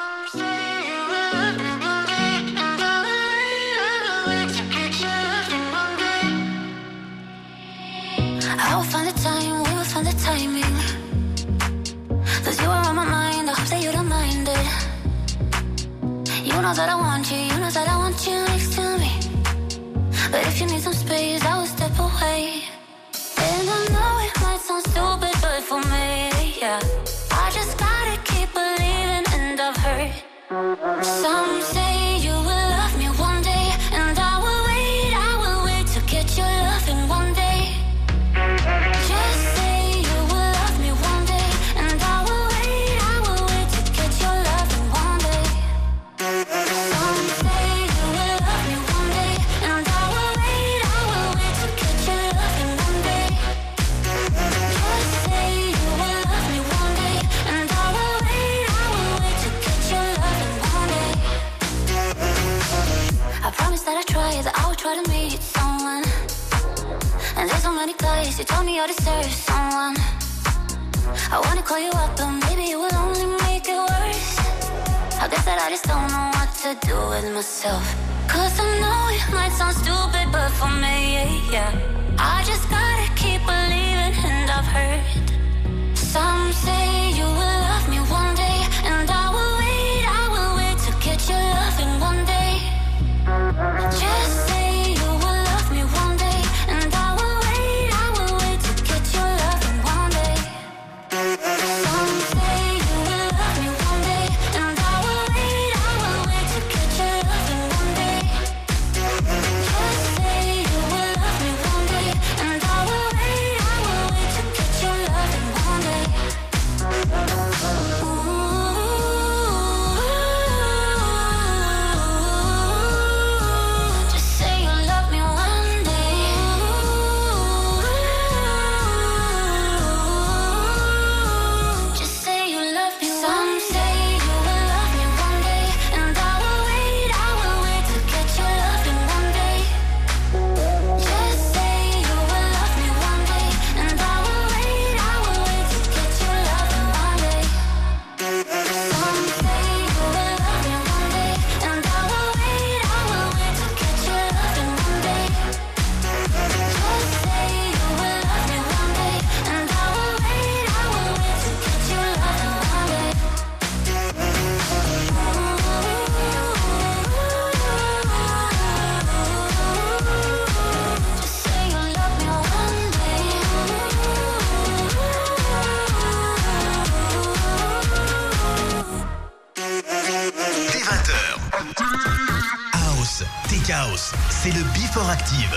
I will find the time, we will find the timing. Cause you are on my mind, I hope that you don't mind it. You know that I want you, you know that I want you next to me. But if you need some space, I will step away. And I know it might sound stupid, but for me, yeah, I just gotta keep believing, and I've heard some say you will love me one day, and I will wait to get your loving one day. Just say you will love me one day, and I will wait to get your loving one day. Some say you will love me one day, and I will wait to get your loving one day. Just say you will love me one day, and I will wait to get your loving one day. I promise that I will try to meet someone. And there's so many guys, you told me I deserve someone. I wanna call you up, but maybe it will only make it worse. I guess that I just don't know what to do with myself. Cause I know it might sound stupid, but for me, yeah, I just gotta keep believing, and I've heard some say you will love me one day, and I will wait to get your loving one day. Just say you will love me one day, and I will wait to get your loving one day. Some say you will love me one day, and I will wait to get your loving one day. Just say you will love me one day, and I will wait to get your loving one day. Just say you love me one day. Just say you love me. Some say you will love me one day, and I will wait to get your loving one day. Just say you will love me one day, and I will wait to get your loving one day. Some say you will love me one day, and I will wait to get your loving one day. Just say you will love me one day, and I will wait to get your loving one day. Just say you love me one day. Dès 20h. House, Tech House, c'est le Before Active.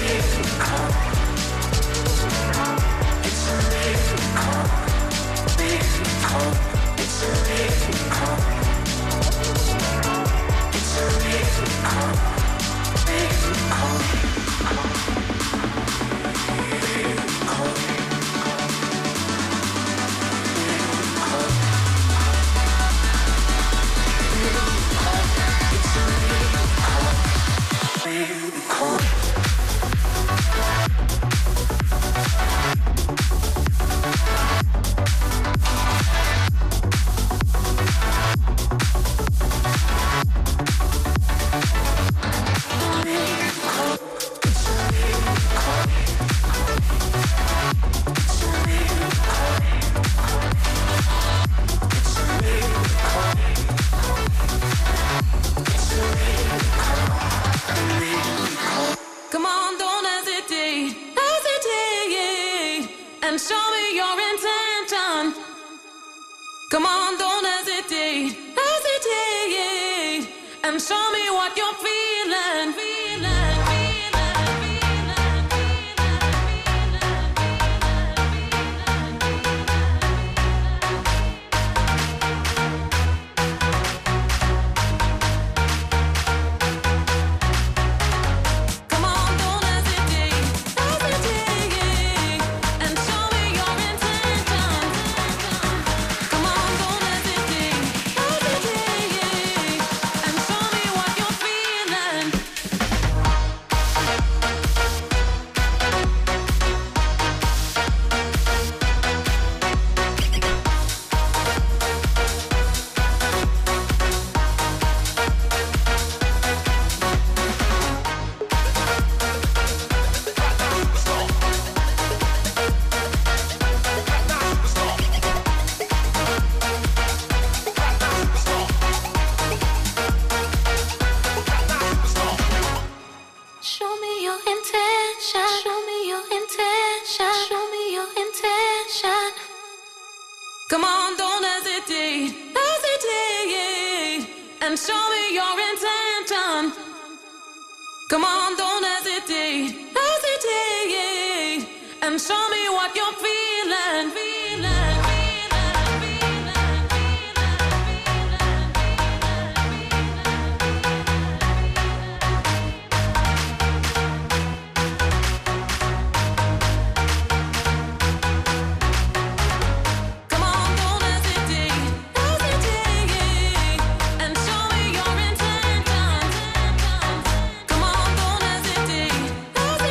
Come on, don't hesitate, hesitate, and show me your intention. Come on, don't hesitate, hesitate, and show me what you're feeling, feeling, Come on, don't hesitate, hesitate, and show me your intention. Come on, don't hesitate, hesitate, and show me what you're feeling, feeling. Hesitate,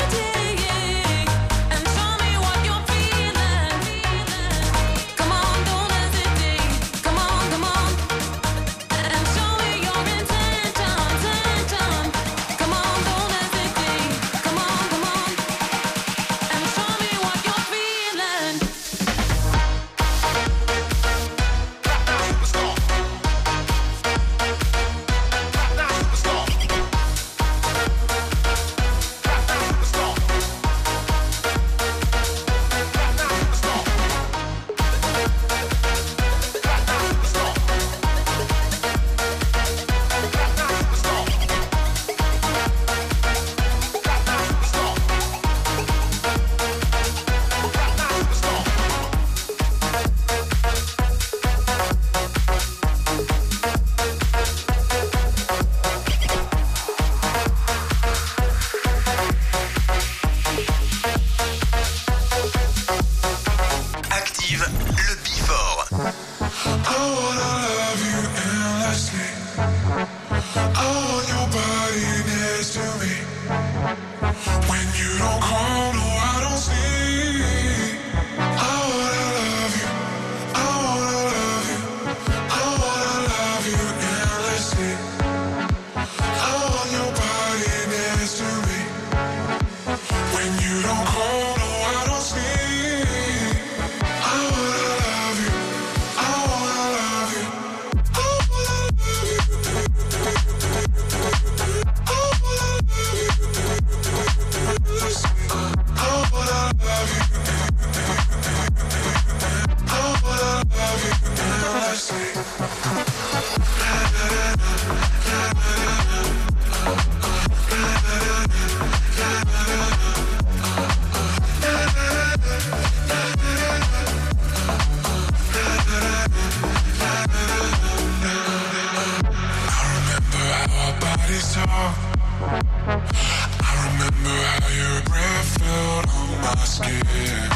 not scared.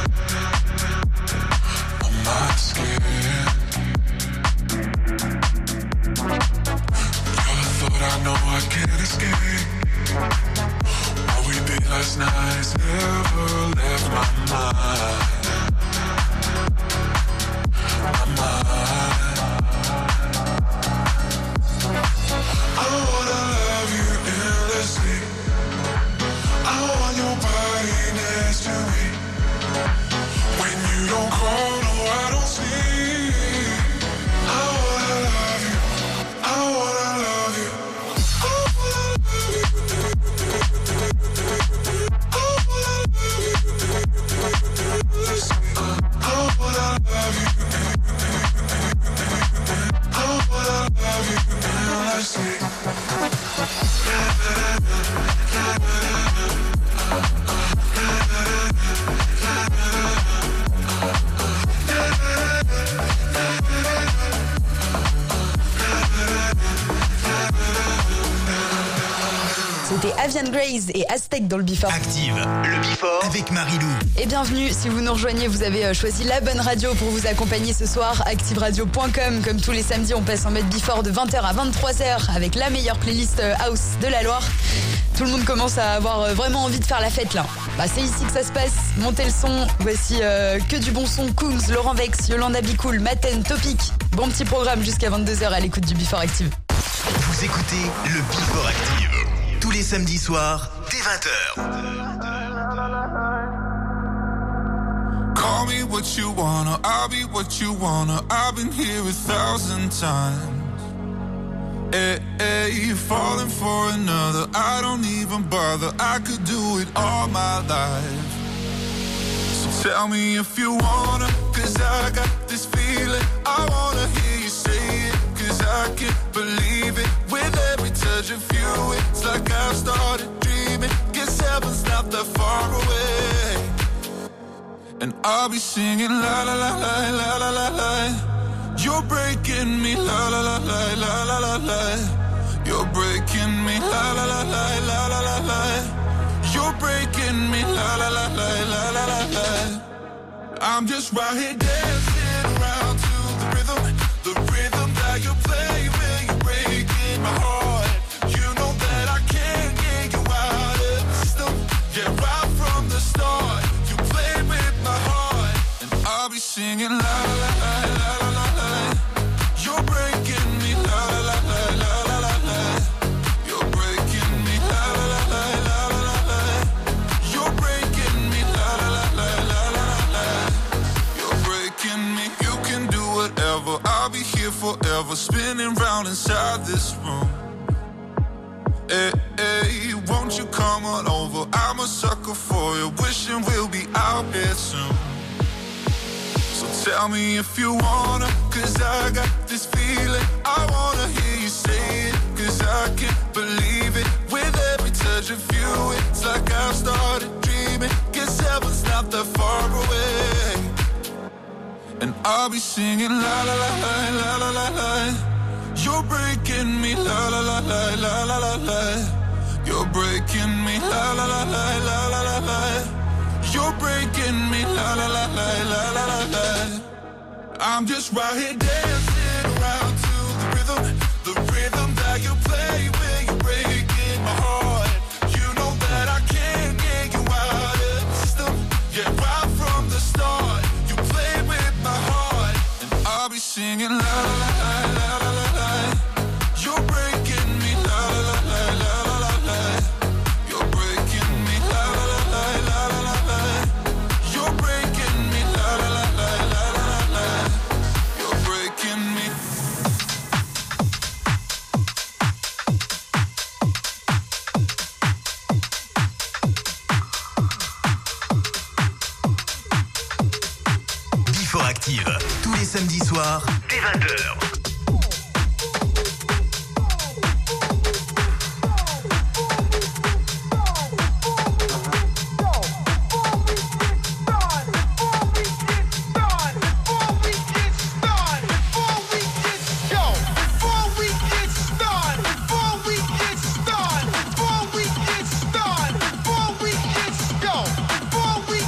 I'm not scared. You're the thought I know I can't escape. What we did last night's never left my mind. My mind. I wanna love you endlessly. I want your body next to me. When you don't call, no, I don't sleep. I wanna love you. I wanna love you. I wanna love you. I wanna love you. I wanna love you. I wanna love you endlessly. C'était Avian Grace et Aztec dans le Before. Active, le Before avec Marilou. Et bienvenue, si vous nous rejoignez, vous avez choisi la bonne radio pour vous accompagner ce soir. ActiveRadio.com, comme tous les samedis, on passe en mode Before de 20h à 23h avec la meilleure playlist house de la Loire. Tout le monde commence à avoir vraiment envie de faire la fête là. Bah, c'est ici que ça se passe, montez le son. Voici que du bon son, Coogs, Laurent Vex, Yolanda Bicool, Maten, Topic. Bon petit programme jusqu'à 22h à l'écoute du Before Active. Vous écoutez le Before Active. Tous les samedis soirs, dès 20h. Call me what you wanna, I'll be what you wanna. I've been here 1,000 times. Hey, hey, you're falling for another. I don't even bother. I could do it all my life. So tell me if you wanna, 'cause I got this feeling. I wanna hear you say it, 'cause I can't believe it. With every touch of you, it's like I've started dreaming. Guess heaven's not that far away. And I'll be singing la la la la la la la la. You're breaking me la la la la la la la la. You're breaking me la la la la la la la la. You're breaking me la la la la la la la la. I'm just right here dancing around to the rhythm that you play when you're breaking my heart. You know that I can't get you out of the system. Yeah, right from the start, you played with my heart, and I'll be singing la la la la la la la. You're breaking me la la la la la la la. You're breaking me la la la la la la la. You're breaking me la la la la la la la. You're breaking me. You can do whatever. I'll be here forever, spinning round inside this room. Hey, hey, won't you come on over? I'm a sucker for you, wishing we'll be out here soon. So tell me if you wanna, 'cause I got this feeling. I wanna hear you say it, 'cause I can't believe it. With every touch of you, it's like I've started dreaming. Guess heaven's not that far away. And I'll be singing la la la la la la la la. You're breaking me la la la la la la la la. You're breaking me la la la la la la la la. You're breaking me la la la la la la la la. I'm just right here dancing around to the rhythm that you play when you're breaking my heart. You know that I can't get you out of the system. Yeah, right from the start, you played with my heart, and I'll be singing la la la la la la la. You're breaking me la la la la la la la. You're breaking me la la la la la la la. You're breaking me la la la la la la la. You're breaking me. Before Active, tous les samedis soirs, dès 20h. Before we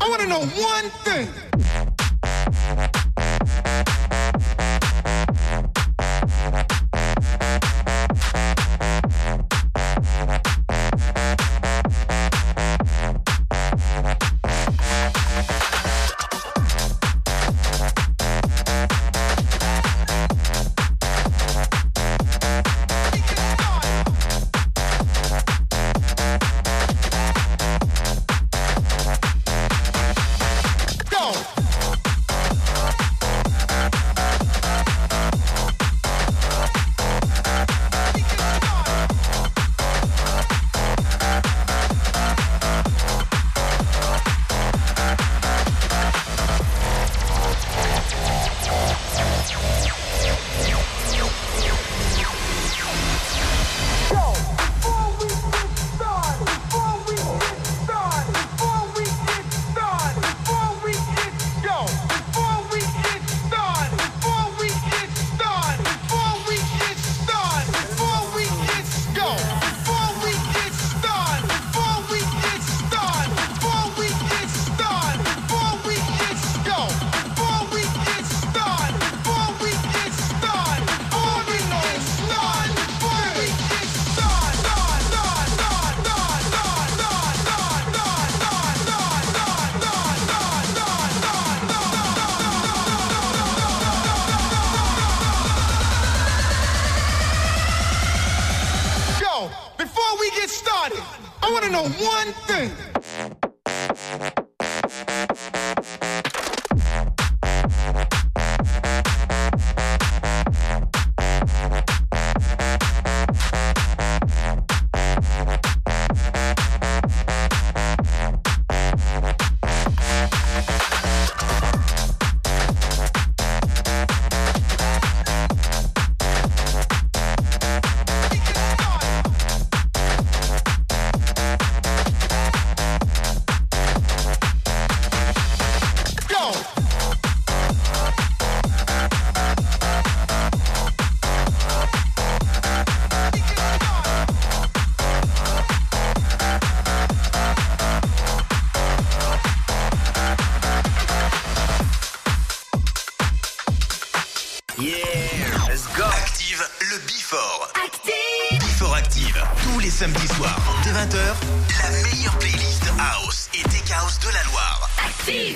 I want to know one thing. Samedi soir, dès 20h, la meilleure playlist House et Tech House de la Loire. Active!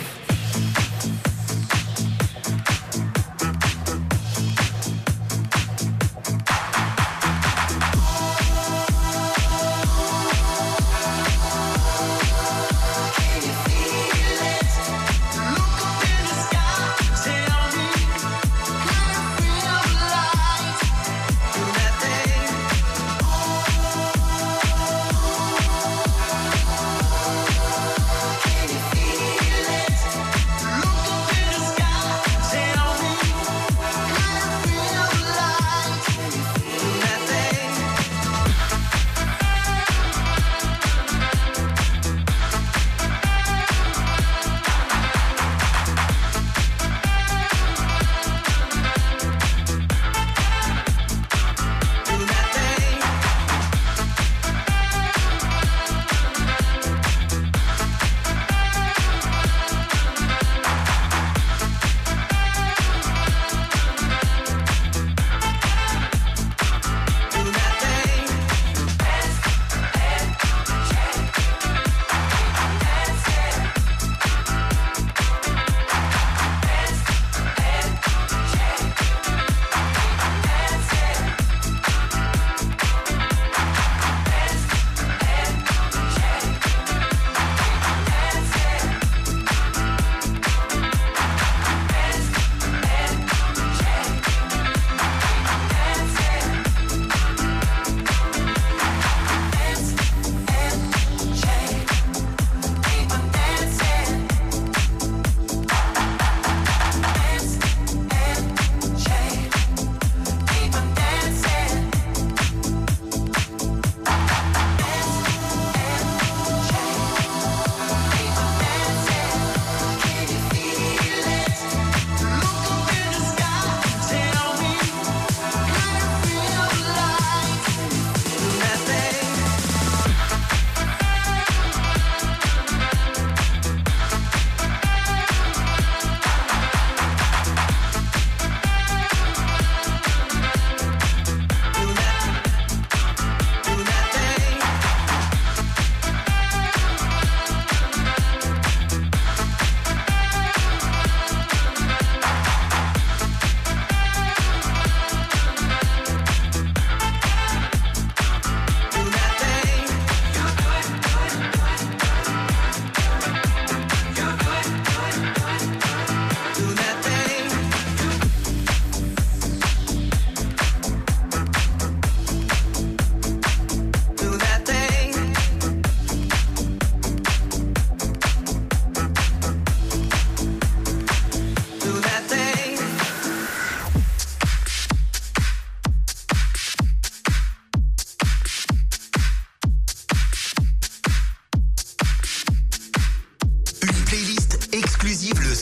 Can you feel it?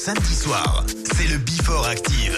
samedi soir. C'est le Before Active.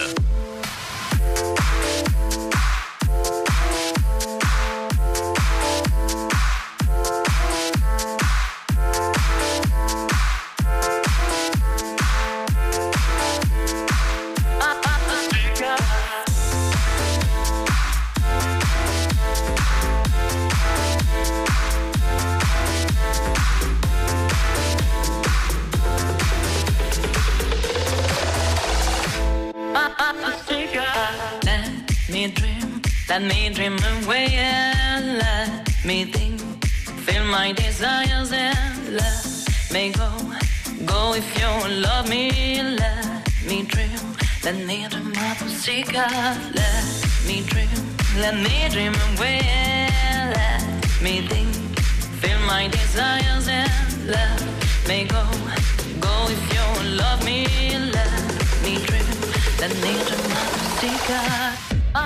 Let me dream away and let me think. Feel my desires and let me go. Go if you love me, let me dream. Let me dream of a secret. Let me dream away and let me think. Feel my desires and let me go. Go if you love me, let me dream. Let me dream of a secret.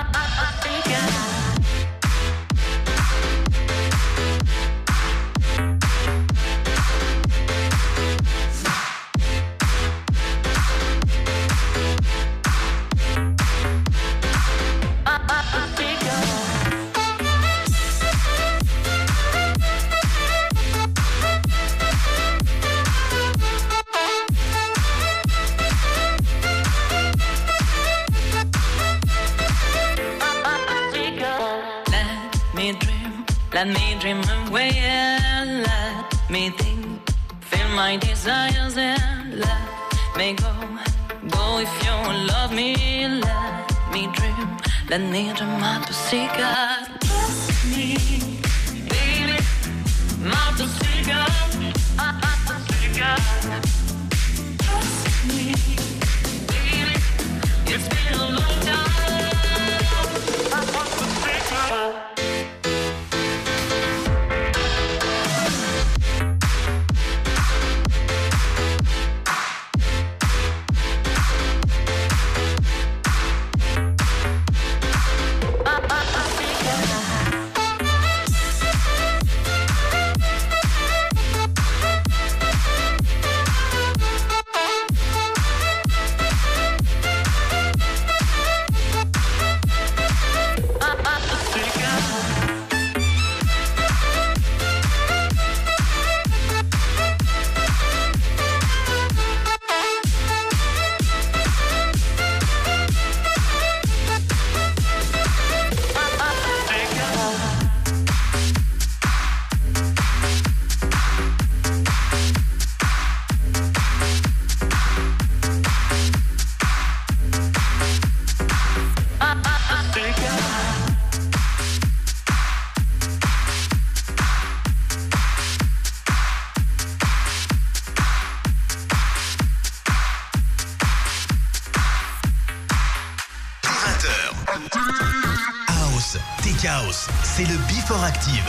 Let me dream away and let me think. Feel my desires and let me go. Go if you love me, let me dream. Let me dream of a secret. Trust me, baby, not a secret. Trust me, baby, it's been a long time. I want the secret. House, c'est le Before Active.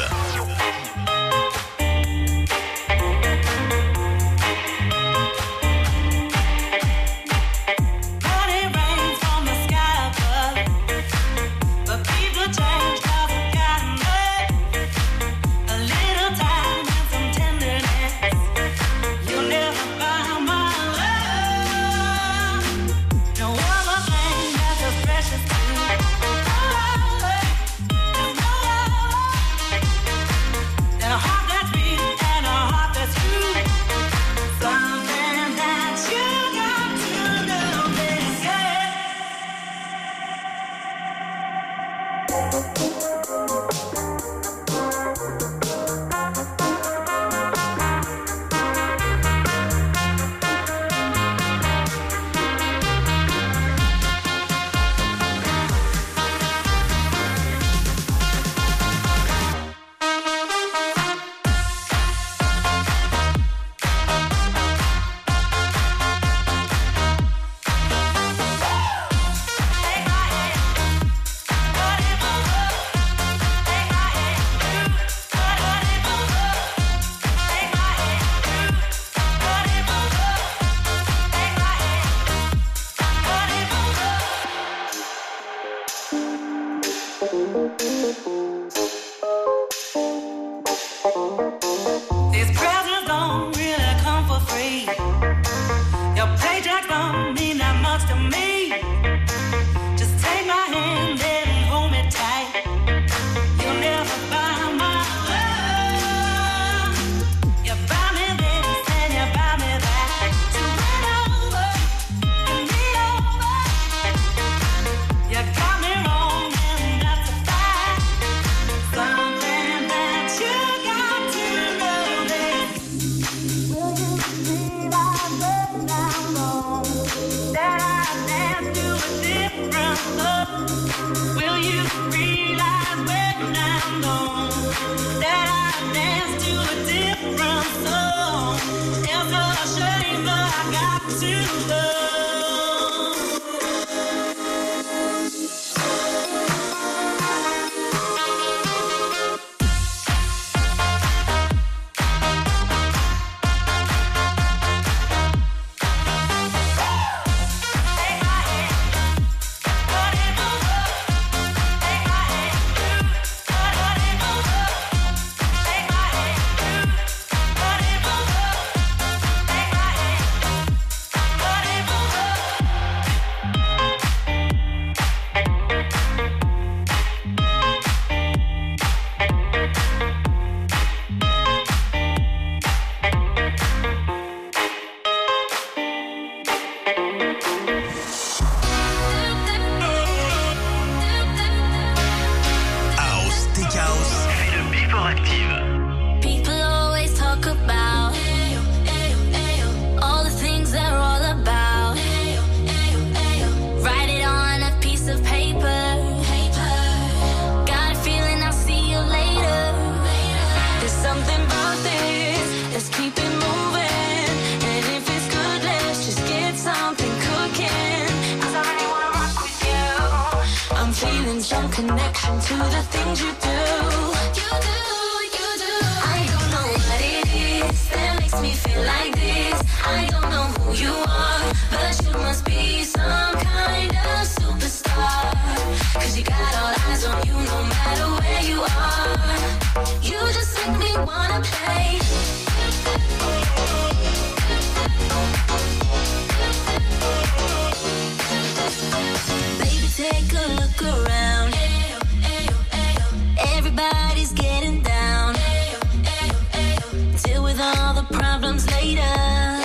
These presents don't really come for free. Your paycheck don't Will you realize when I'm gone that I dance to a different song? It's a shame, but I got to go. Connection to the things you do. I don't know what it is that makes me feel like this. I don't know who you are, but you must be some kind of superstar. 'Cause you got all eyes on you no matter where you are. You just make me wanna play. Baby, take a look around. Everybody's getting down. Deal with all the problems later.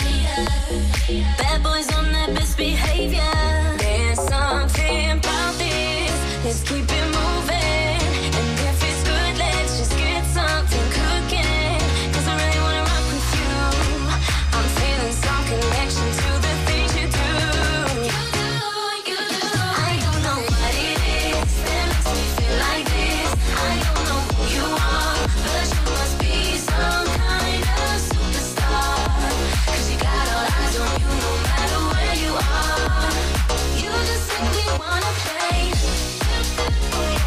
Bad boys on their best behavior. There's something about this. Let's keep it moving. And if it's good, let's just get something cooking. 'Cause I really wanna rock with you. I'm feeling some connection to the things you do. I don't know what it is that makes me feel like this. I don't know who you are, but you must be some kind of superstar. 'Cause you got all eyes on you no matter where you are. You just make me wanna play.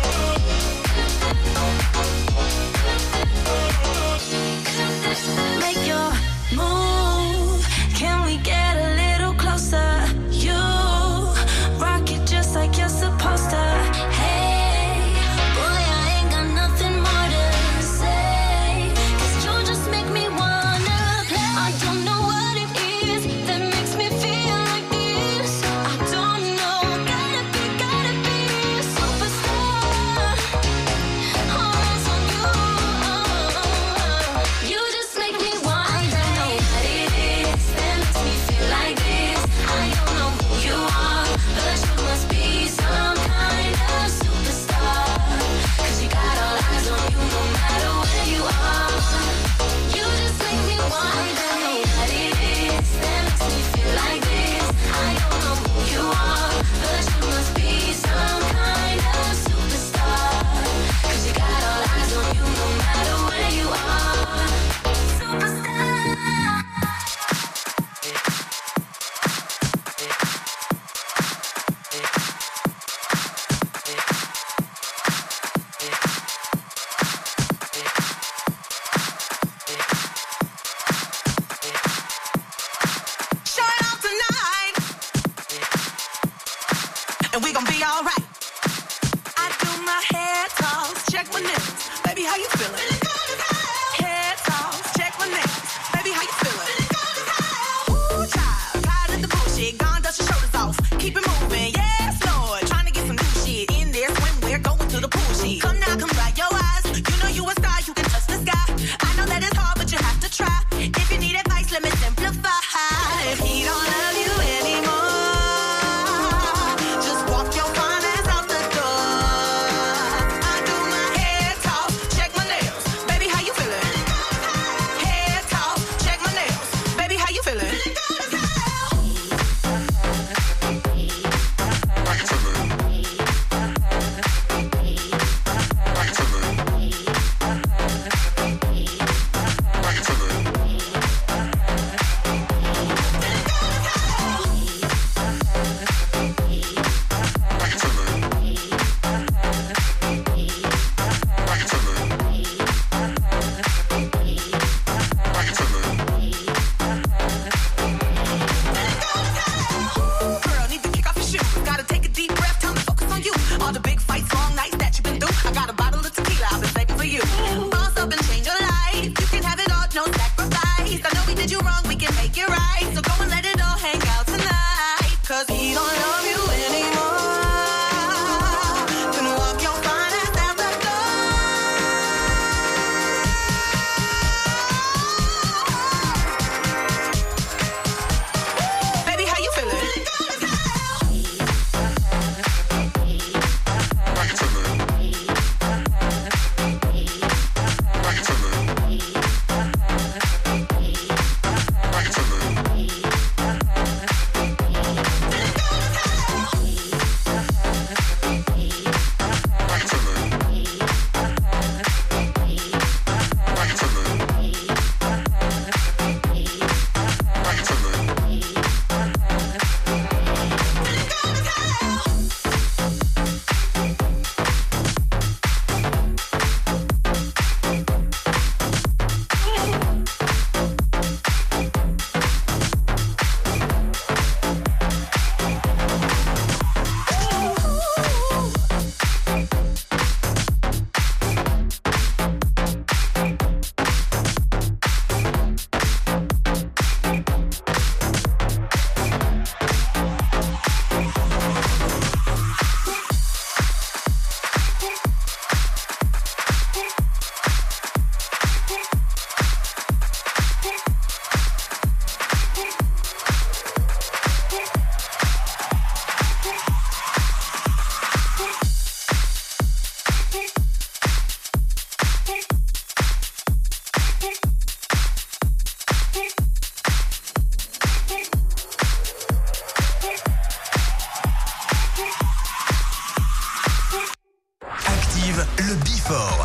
Active, le Before.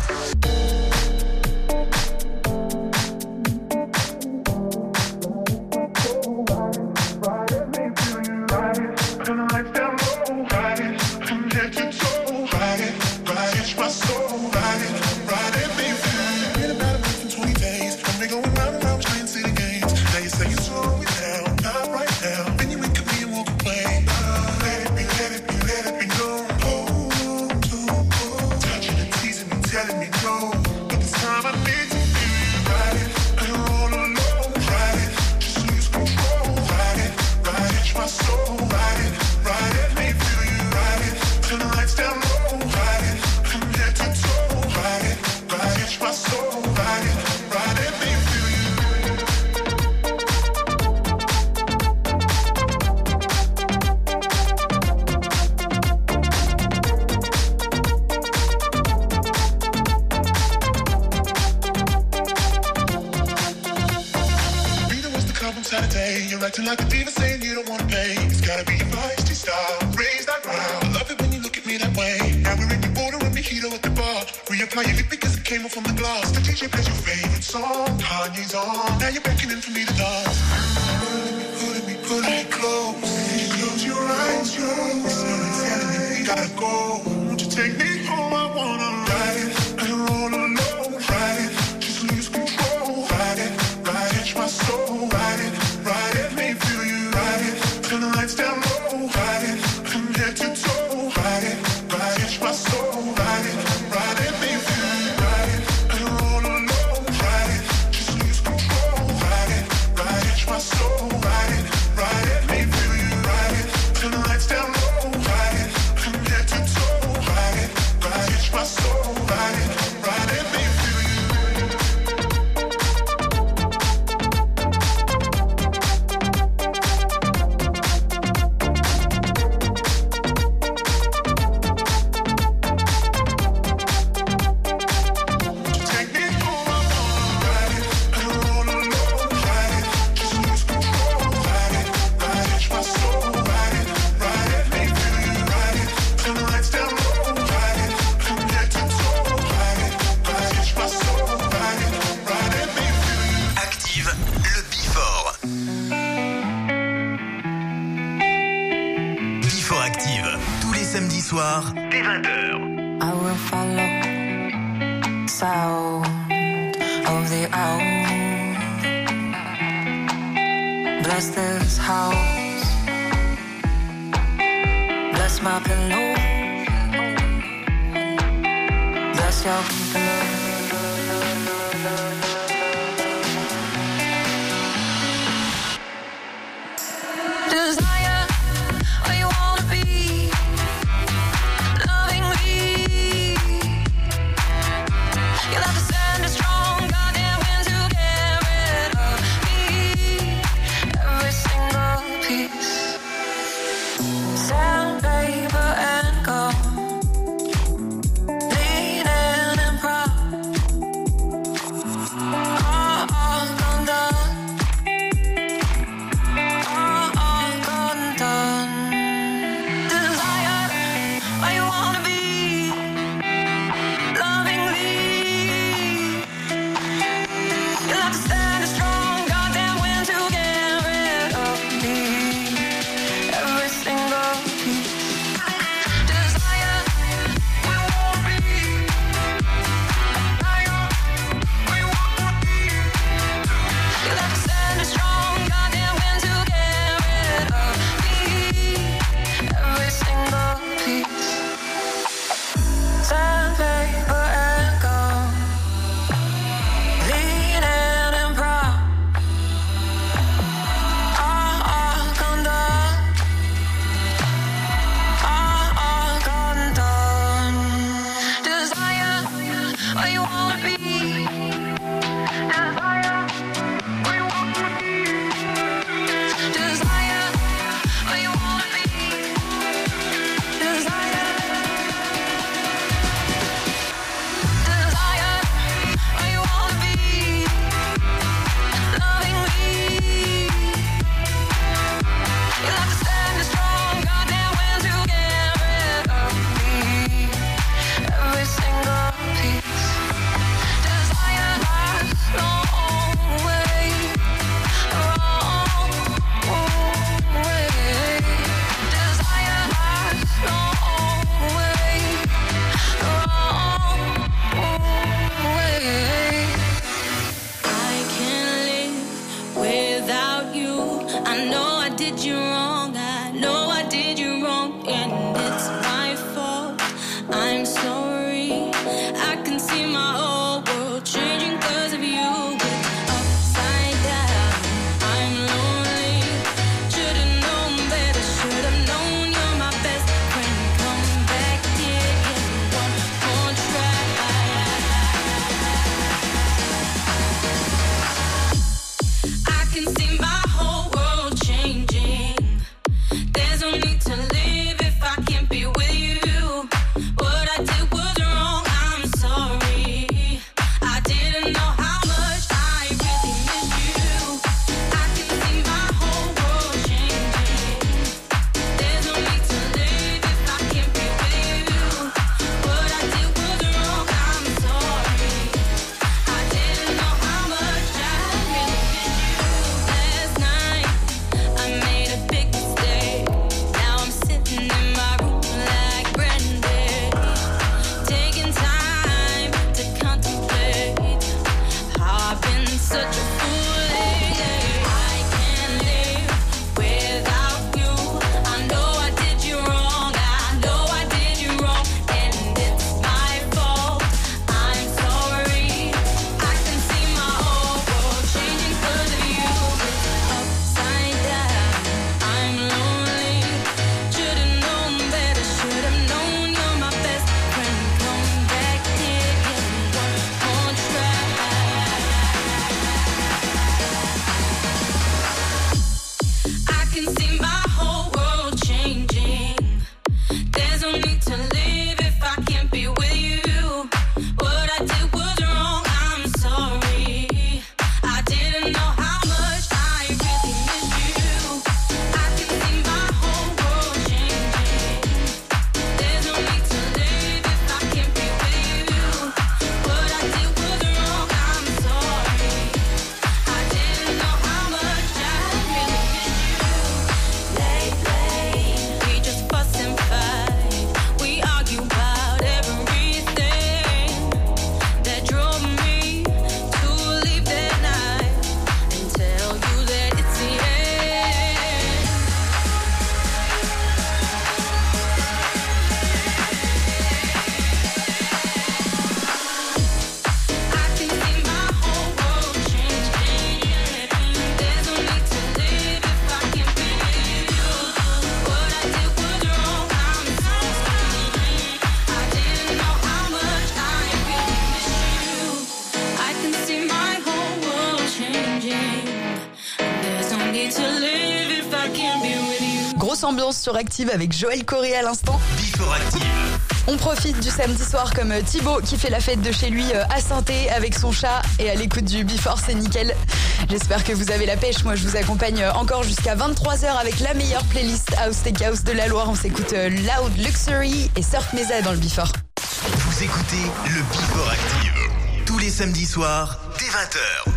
Acting like a diva saying you don't wanna pay. It's gotta be your feisty style. Raise that ground. I love it when you look at me that way. Now we're in the border and mojito at the bar. Reapply your lip because it came off from the glass. The DJ plays your favorite song. Kanye's on. Now you're beckoning for me to dance. Pulling me close. Close your eyes, Someone's telling me we gotta go. Won't you take me home? I wanna ride it. And roll alone. Ride it. Just lose control. Ride it. Catch my soul. Ride it. Ride it, me feel you, ride it. Turn the lights down low, ride it. From head to toe, ride it. Catch my soul, ride it. Ride it, me feel you, ride it. And roll alone, ride it. Just lose control, ride it. Catch my soul, ride it. Ride it, me feel you, ride it. Turn the lights down low, ride it. From head to toe, ride it. Catch my soul, ride it. Ride it, me feel you. Soir, dès 20h. I will follow sound of the owl. Bless this house. Bless my pillow. Bless your pillow. Desire where you wanna be. You'll have to stand a strong goddamn wind to get rid of me. Every single piece. Sandpaper and gold. Bleeding and proud. ambiance sur Active avec Joël Corré à l'instant. Before Active. On profite du samedi soir comme Thibaut qui fait la fête de chez lui à Saint-Thé avec son chat et à l'écoute du Before, c'est nickel. J'espère que vous avez la pêche. Moi, je vous accompagne encore jusqu'à 23h avec la meilleure playlist House Tech House de la Loire. On s'écoute Loud Luxury et Surf Mesa dans le Before. Vous écoutez le Before Active tous les samedis soirs dès 20h.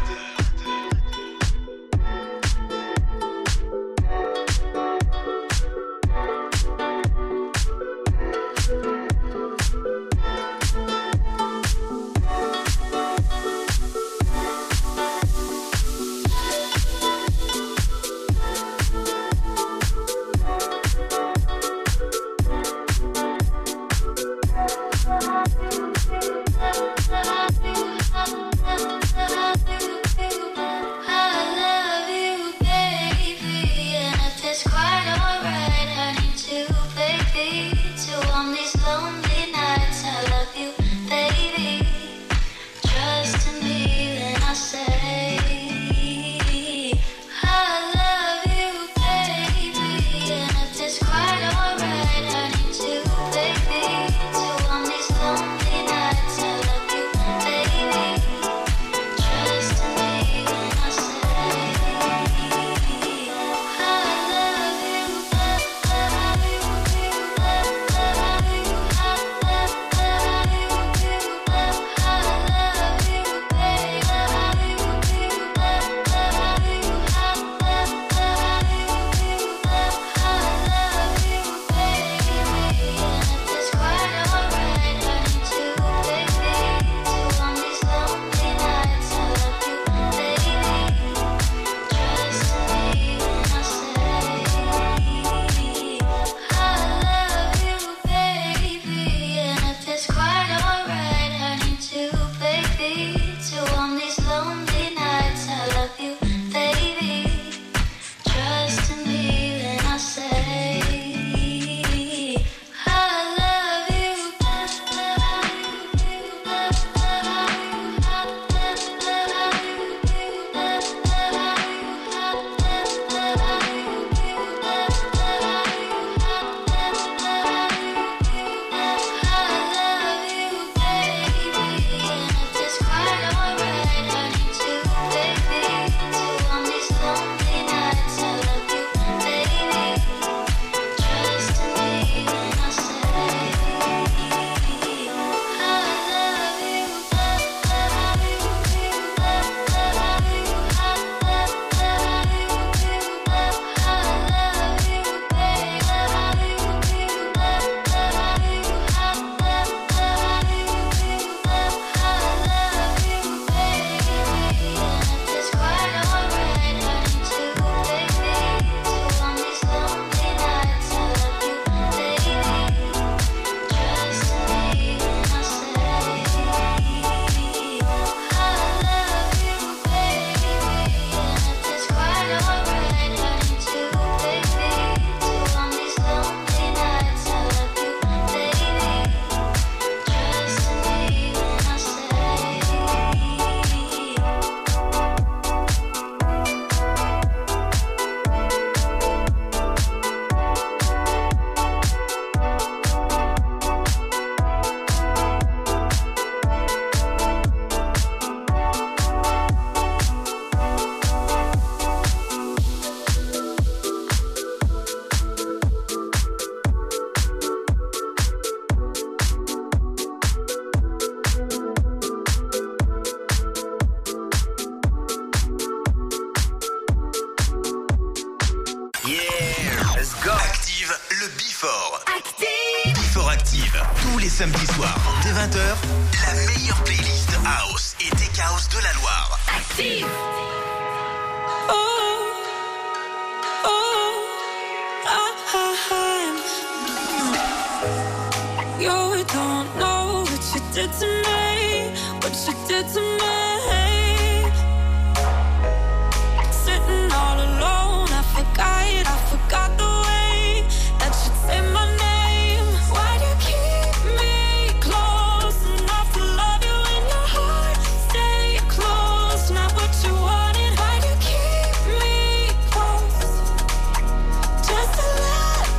samedi soir, dès 20h, la meilleure playlist House et Tech House de la Loire. Active! You don't know what you did to me, what you did to me. Sitting all alone, I forgot the way that you say my name. Why do you keep me close enough to love you in your heart? Stay close, not what you wanted. Why do you keep me close? Just to let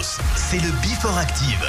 House. C'est le Before Active.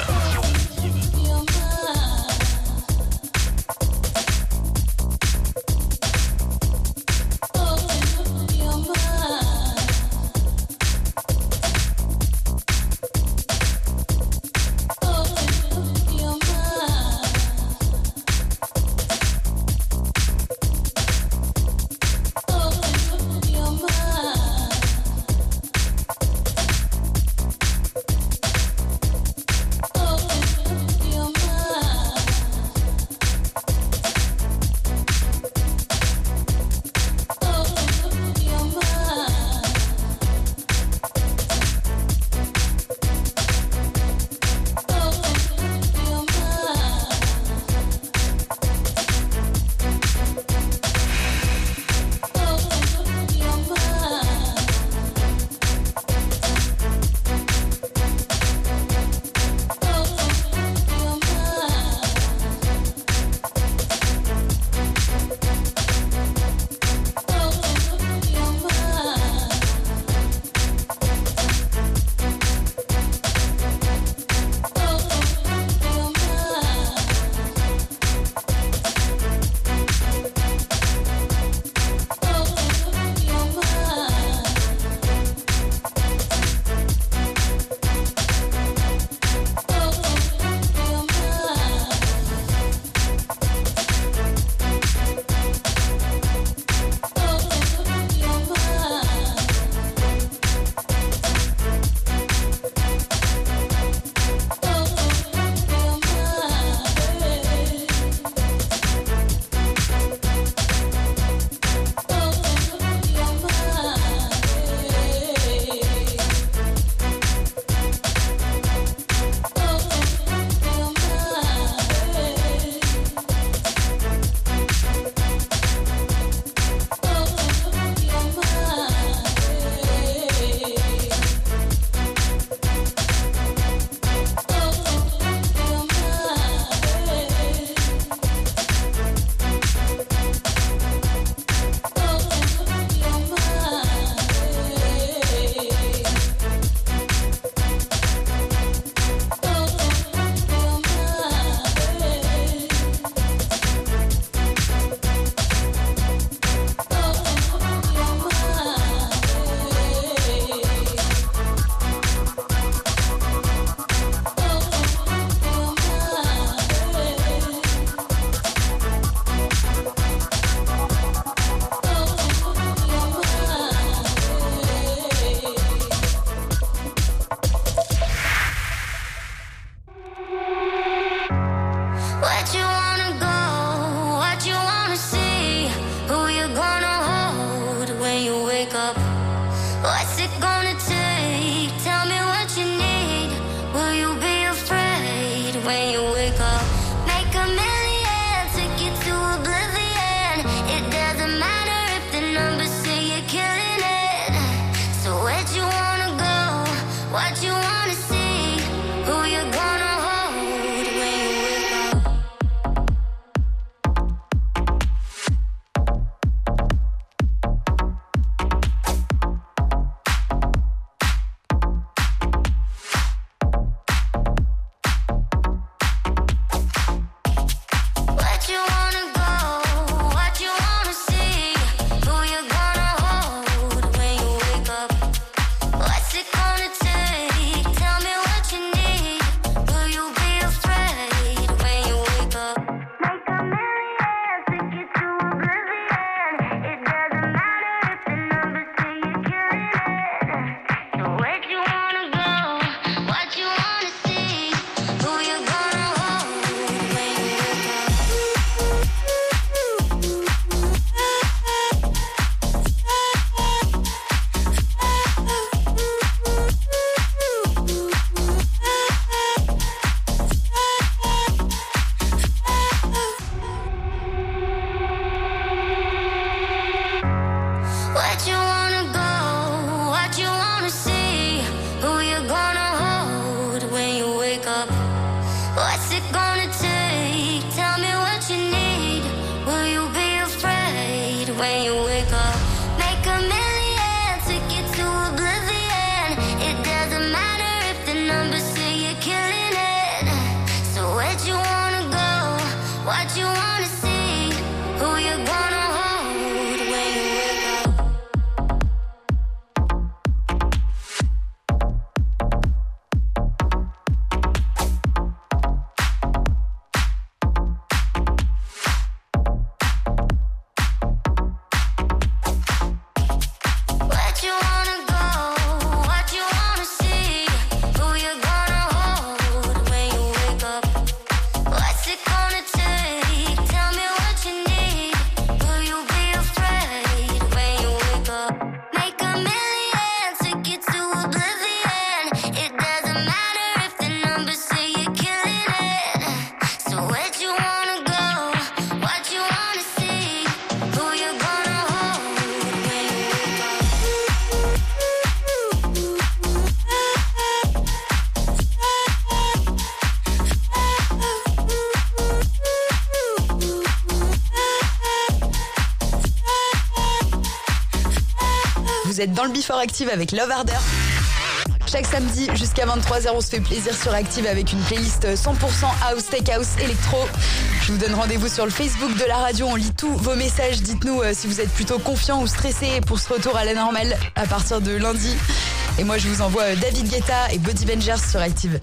vous êtes dans le Before Active avec Love Harder. Chaque samedi jusqu'à 23h, on se fait plaisir sur Active avec une playlist 100% house, tech house, électro. Je vous donne rendez-vous sur le Facebook de la radio. On lit tous vos messages. Dites-nous si vous êtes plutôt confiant ou stressé pour ce retour à la normale à partir de lundi. Et moi, je vous envoie David Guetta et Body Bangers sur Active.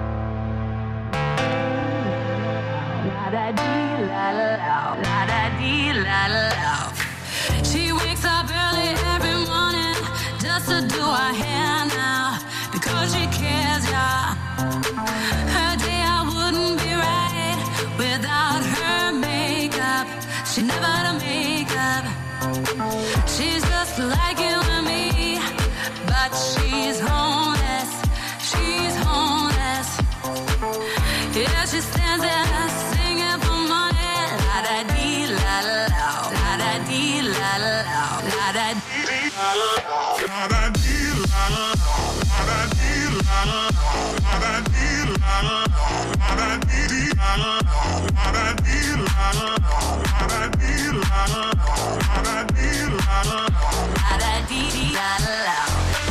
She wakes up early every morning just to do her hair now because she cares, yeah. Her day I wouldn't be right without her makeup. She never had a makeup. She's just like you and me, but she's homeless. She's homeless. Yeah, she stands there singing for money. La da dee la la la, la da dee la la la, la da dee la la la, la da dee la la la, la da dee la la la, la da dee la la la, la da dee la la la, la da dee la la la, la da dee la la la, la da dee la la la, la da dee la la la.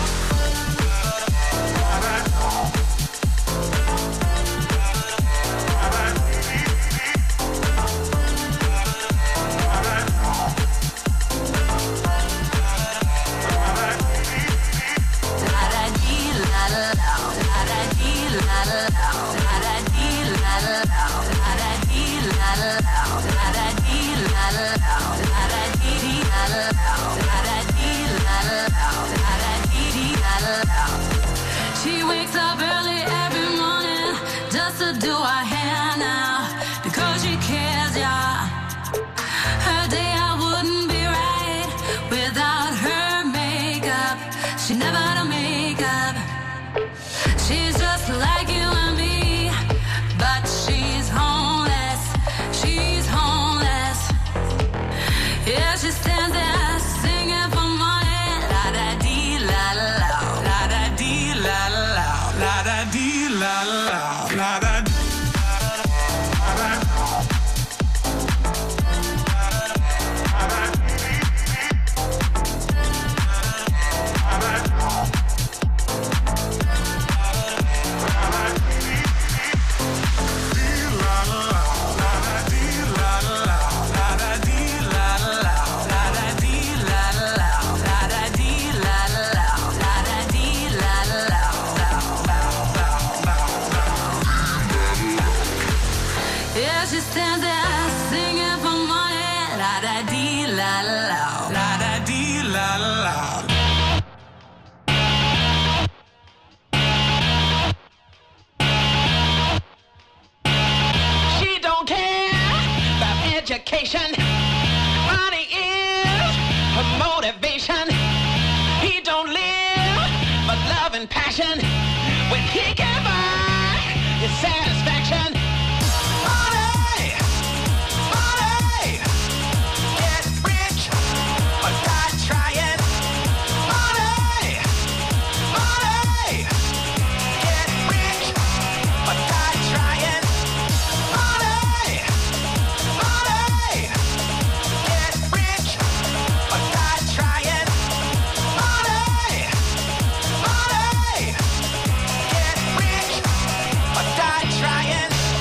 She wakes up early every morning just to do her hair now because she cares, yeah. Her day I wouldn't be right without her makeup. She never had a makeup. She's just like you and me, but she's homeless. She's homeless. Yeah, she stands there singing for money. La da dee la la la, la da dee la la la, la da dee la la la, la da dee. Yeah, she stands there singing for money. La da dee la la la, la da dee la la la. She don't care about education. Money is her motivation. He don't live for love and passion. When he can buy his satisfaction. Money, money, get rich or die trying. Money, money, get rich or die trying. Money, money, get rich or die trying. Money, money, get rich or die trying.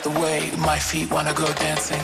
the way, my feet wanna go dancing.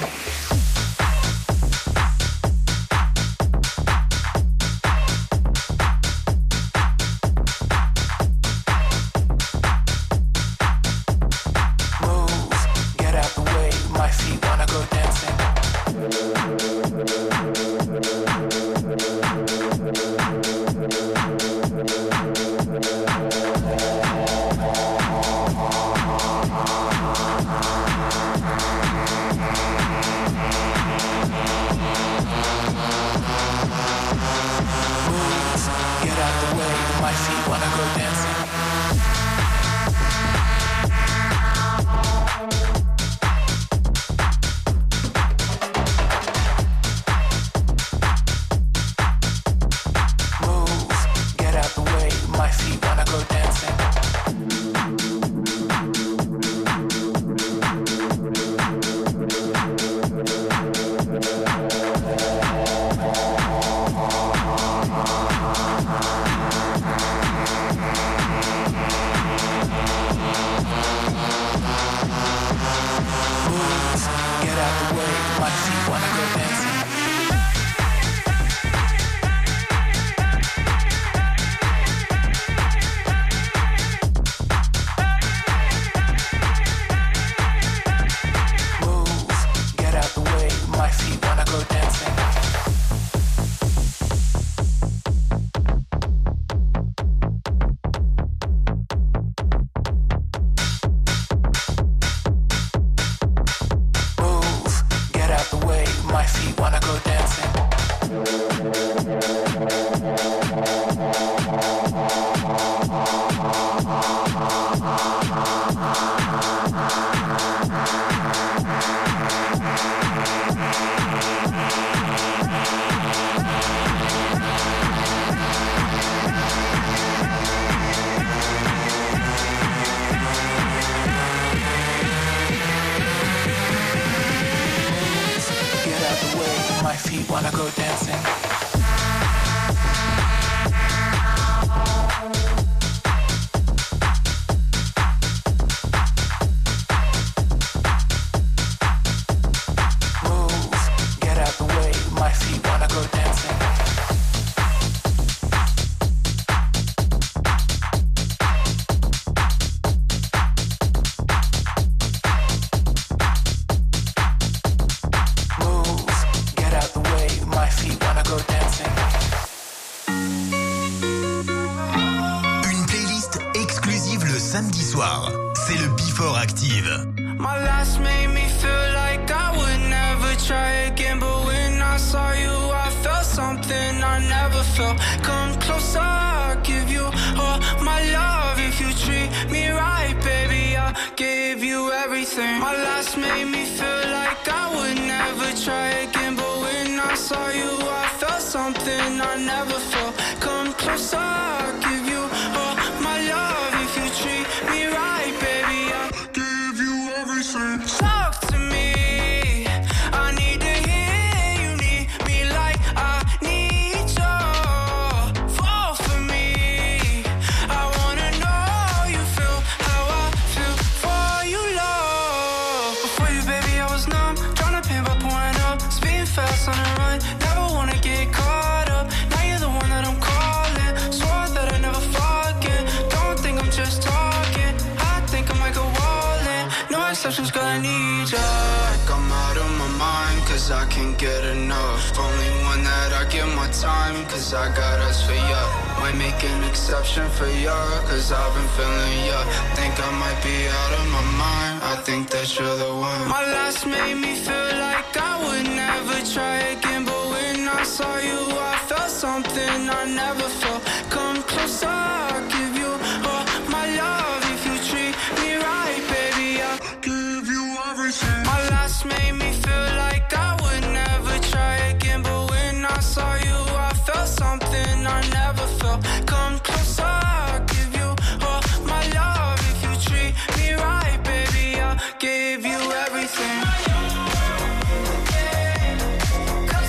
Give you everything. 'Cause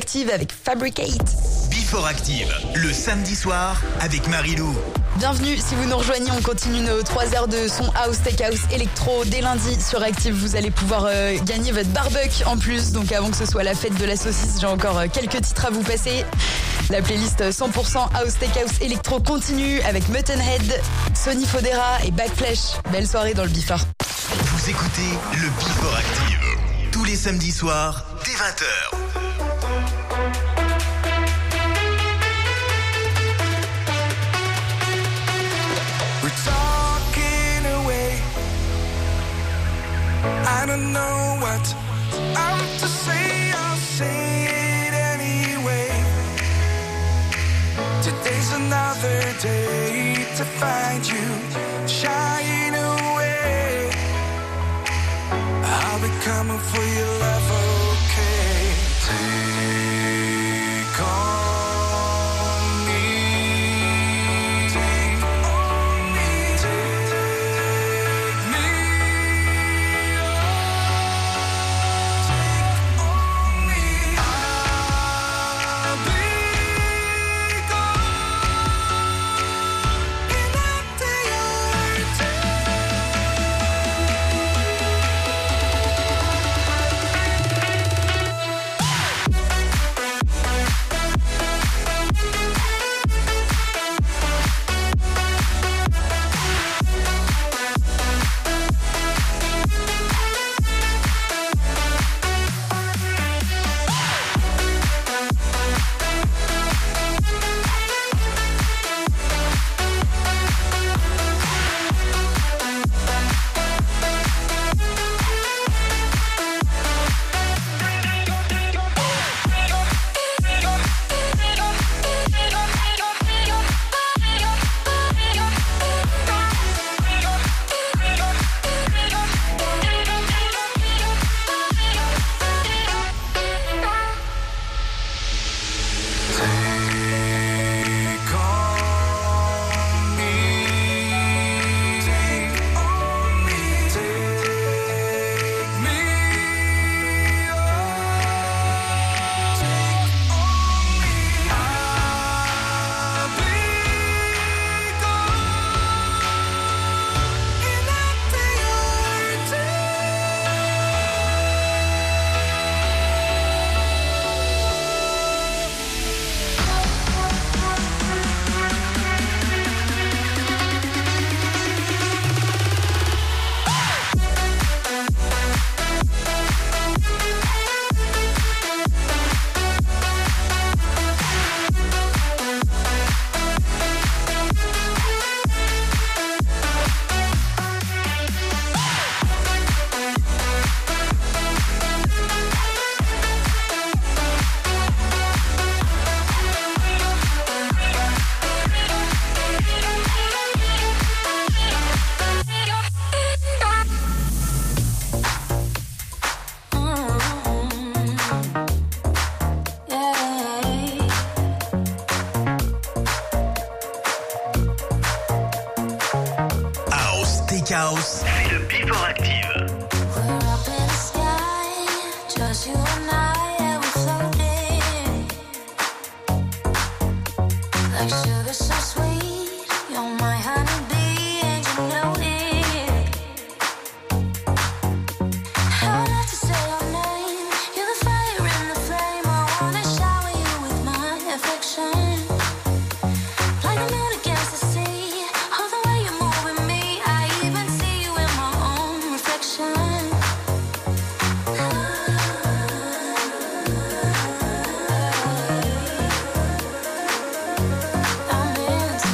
Active avec Fabricate. Before Active, le samedi soir avec Marilou. Bienvenue, si vous nous rejoignez, on continue nos 3 heures de son house, tech house, électro. Dès lundi sur Active, vous allez pouvoir gagner votre barbecue en plus. Donc avant que ce soit la fête de la saucisse, j'ai encore quelques titres à vous passer. La playlist 100% house, tech house, électro continue avec Muttonhead, Sonny Fodera et Backflash. Belle soirée dans le Before. Vous écoutez le Before Active tous les samedis soirs dès 20h. I don't know what I'm to say, I'll say it anyway. Today's another day to find you shying away. I'll be coming for your love, okay? Take on me. Take on me. Take me. House, c'est le Before Active. I'm in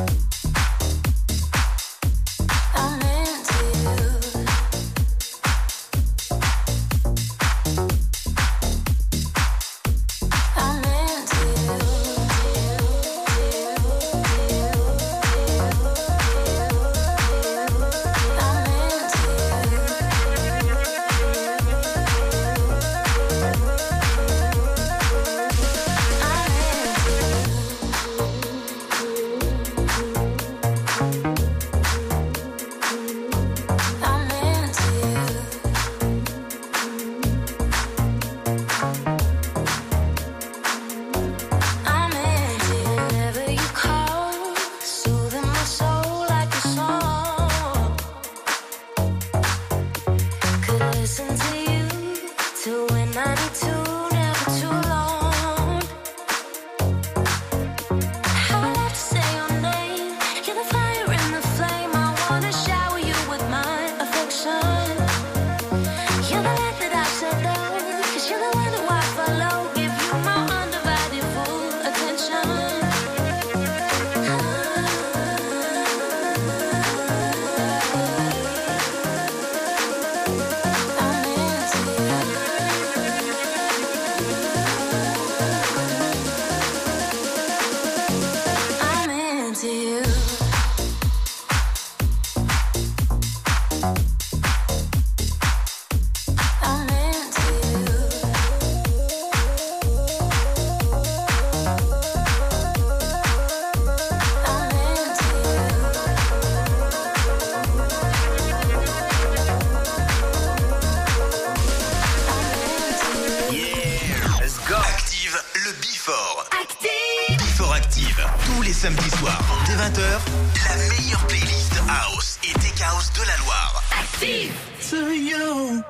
Samedi soir, dès 20h, la meilleure playlist House et Tech House de la Loire. Active to you.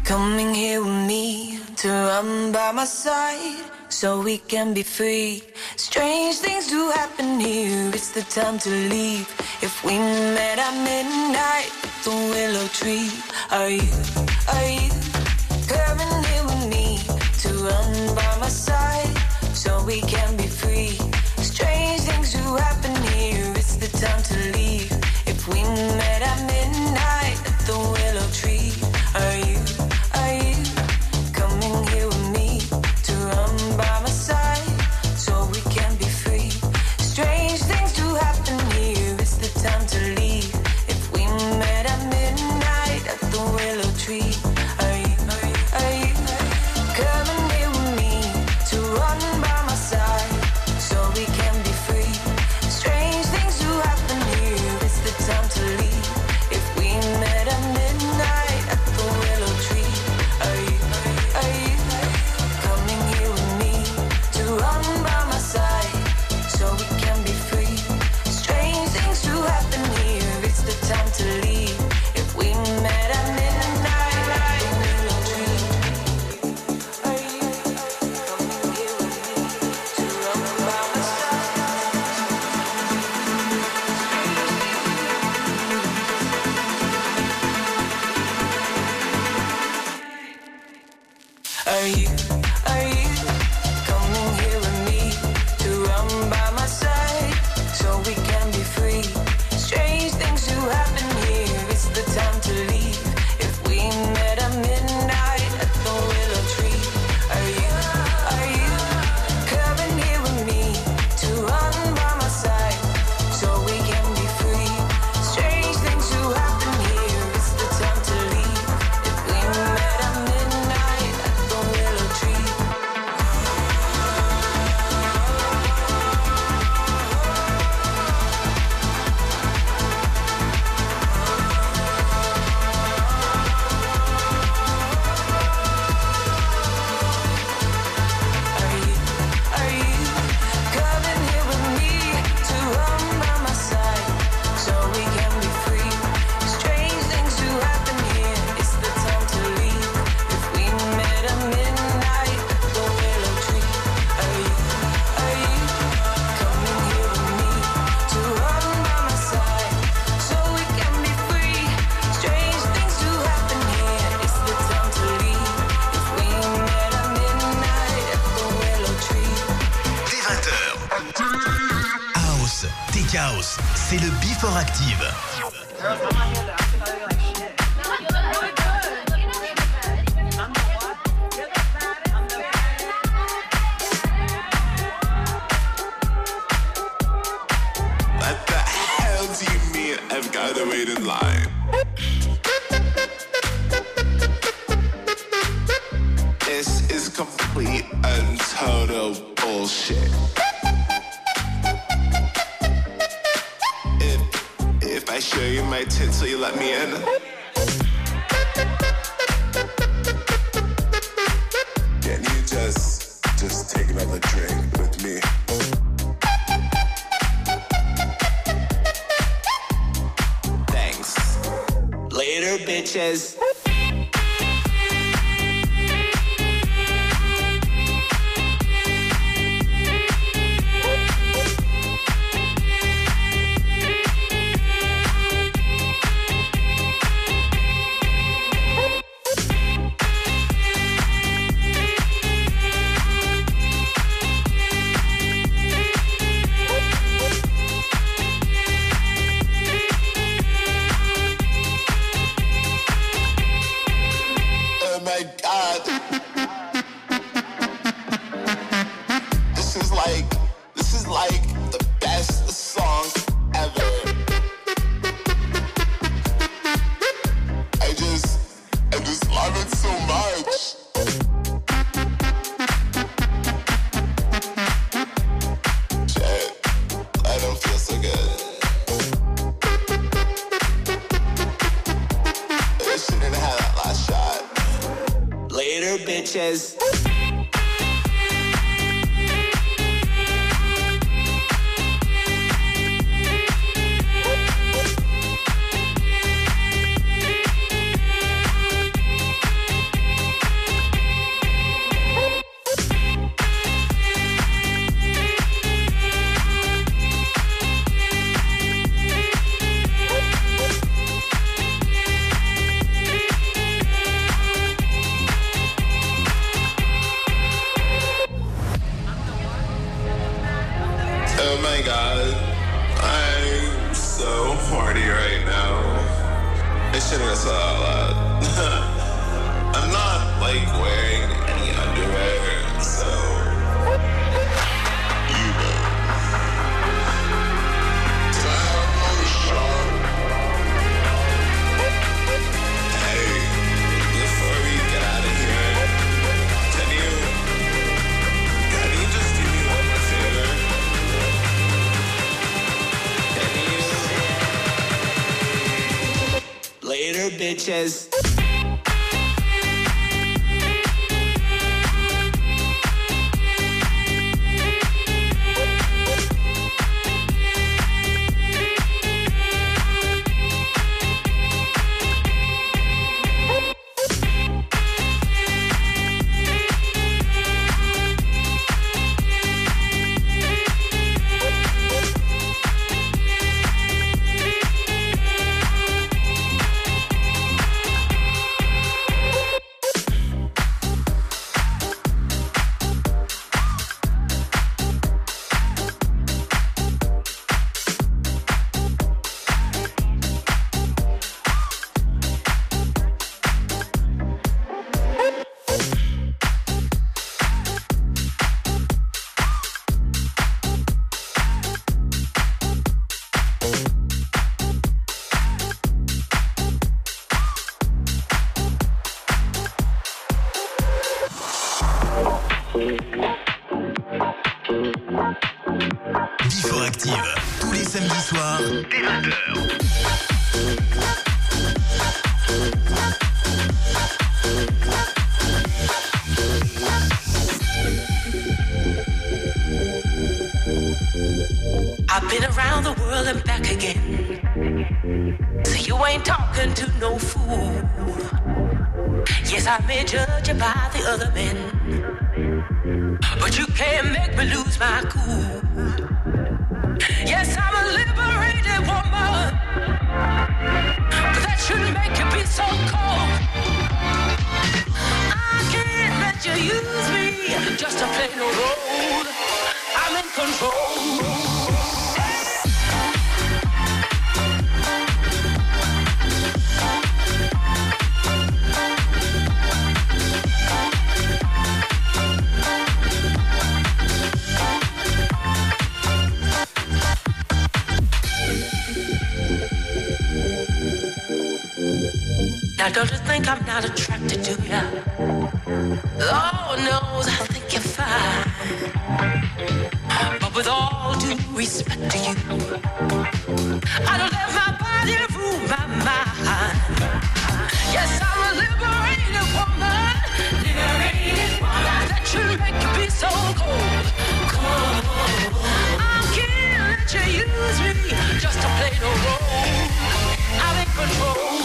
Coming here with me to run by my side so we can be free. Strange things do happen here, it's the time to leave. If we met at midnight at the willow tree, are you coming here with me to run by my side so we can be free? Strange things do happen here, it's the time to leave. If we met at midnight at the willow tree, are you coming here with me to run by my side so we can be free? Strange things do happen here, it's the time to leave. If we met at midnight at the willow tree, are you coming here with me to run by my side so we can be free? Strange things do happen here, it's the time to leave. If we met at midnight at the willow tree, are you coming here with me to run by my side so we can be free? Strange things do happen here, it's the time to leave. If we met at midnight at the willow tree, are you coming here with me to run by my side? Are you coming here with me to run by my side so we can be free? Strange things do happen here, it's the time to leave. If we met at midnight at the willow tree, are you coming here with me to run by my side so we can be free? Strange things do happen here, it's the time to leave. If we met at midnight at the willow tree. Are you coming here with me to run by my side so we can be free? Strange things do happen here, it's the time to leave. If we met at midnight at the willow tree, are you coming here with me to run by my side so we can be free? Strange things do happen here, it's the time to leave. If we met at midnight at the willow tree. Dès 20h. House, Tech House, c'est le Before Active. What the hell do you mean I've got to wait in line? This is complete and total bullshit. If I show you my tits, will you let me in? Can you just take another drink with me? Thanks. Later, bitches. Oh my God. This is like the best song ever. I just love it so much. Shit, I don't feel so good. I shouldn't have that last shot. Later, bitches. bitches. Before Active, tous les samedis soirs, dès 20h. I've been around the world and back again. So you ain't talking to no fool. Yes, I may judge you by the other men, but you can't make me lose my cool. Yes, I'm a liberated woman, but that shouldn't make you be so cold. I can't let you use me just to play no role. I'm in control. Now don't you think I'm not attracted to you? Lord knows I think you're fine. But with all due respect to you, I don't let my body rule my mind. Yes, I'm a liberated woman. Liberated woman. That should make you be so cold. Cold. I can't let you use me just to play no role. I'm in control.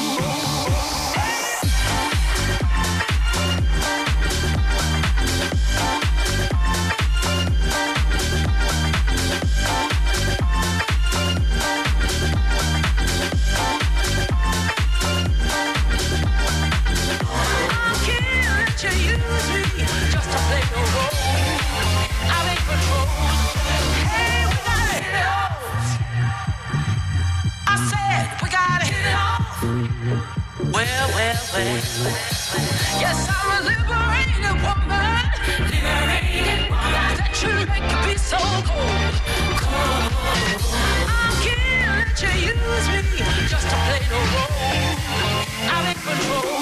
Yes, I'm a liberated woman. Liberated woman. That should make you be so cold. Cold. I can't let you use me just to play no role. I'm in control.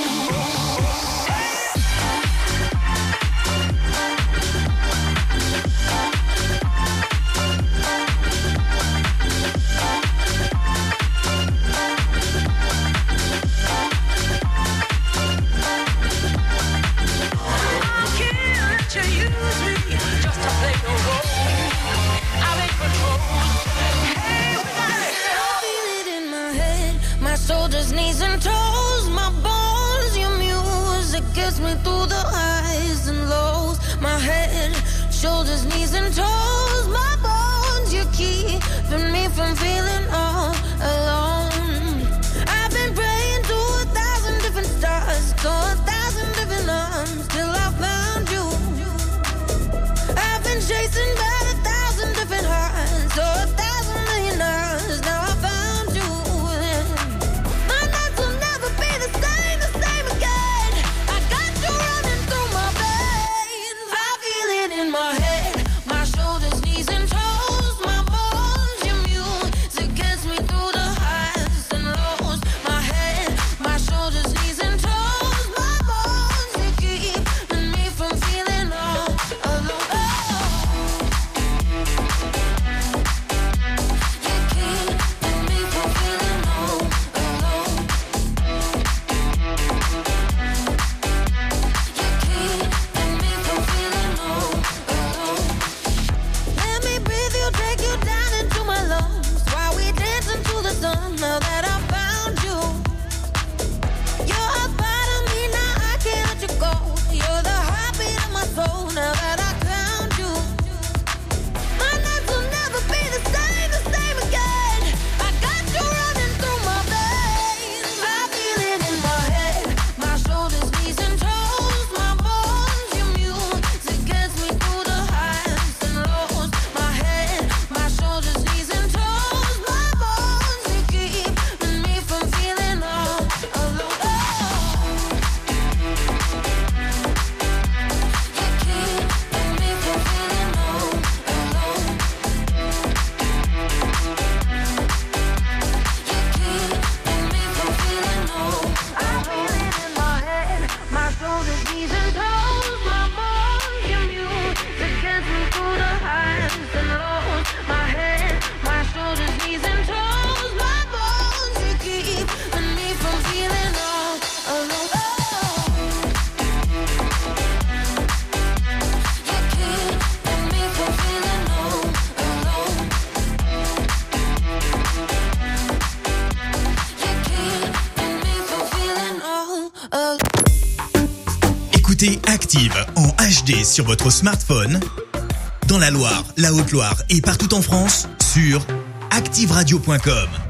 Shoulders, knees and toes, my bones, your music gets me through the highs and lows. My head, shoulders, knees and toes, my bones, you keeping me from feeling all alone. I've been praying to 1,000 different stars, to 1,000 different arms, till I found you. I've been chasing by 1,000 different hearts, to 1,000 million hours, now I found you. My shoulders, knees and toes, my bones, your music gets me through. Écoutez Active en HD sur votre smartphone, dans la Loire, la Haute-Loire et partout en France, sur activeradio.com.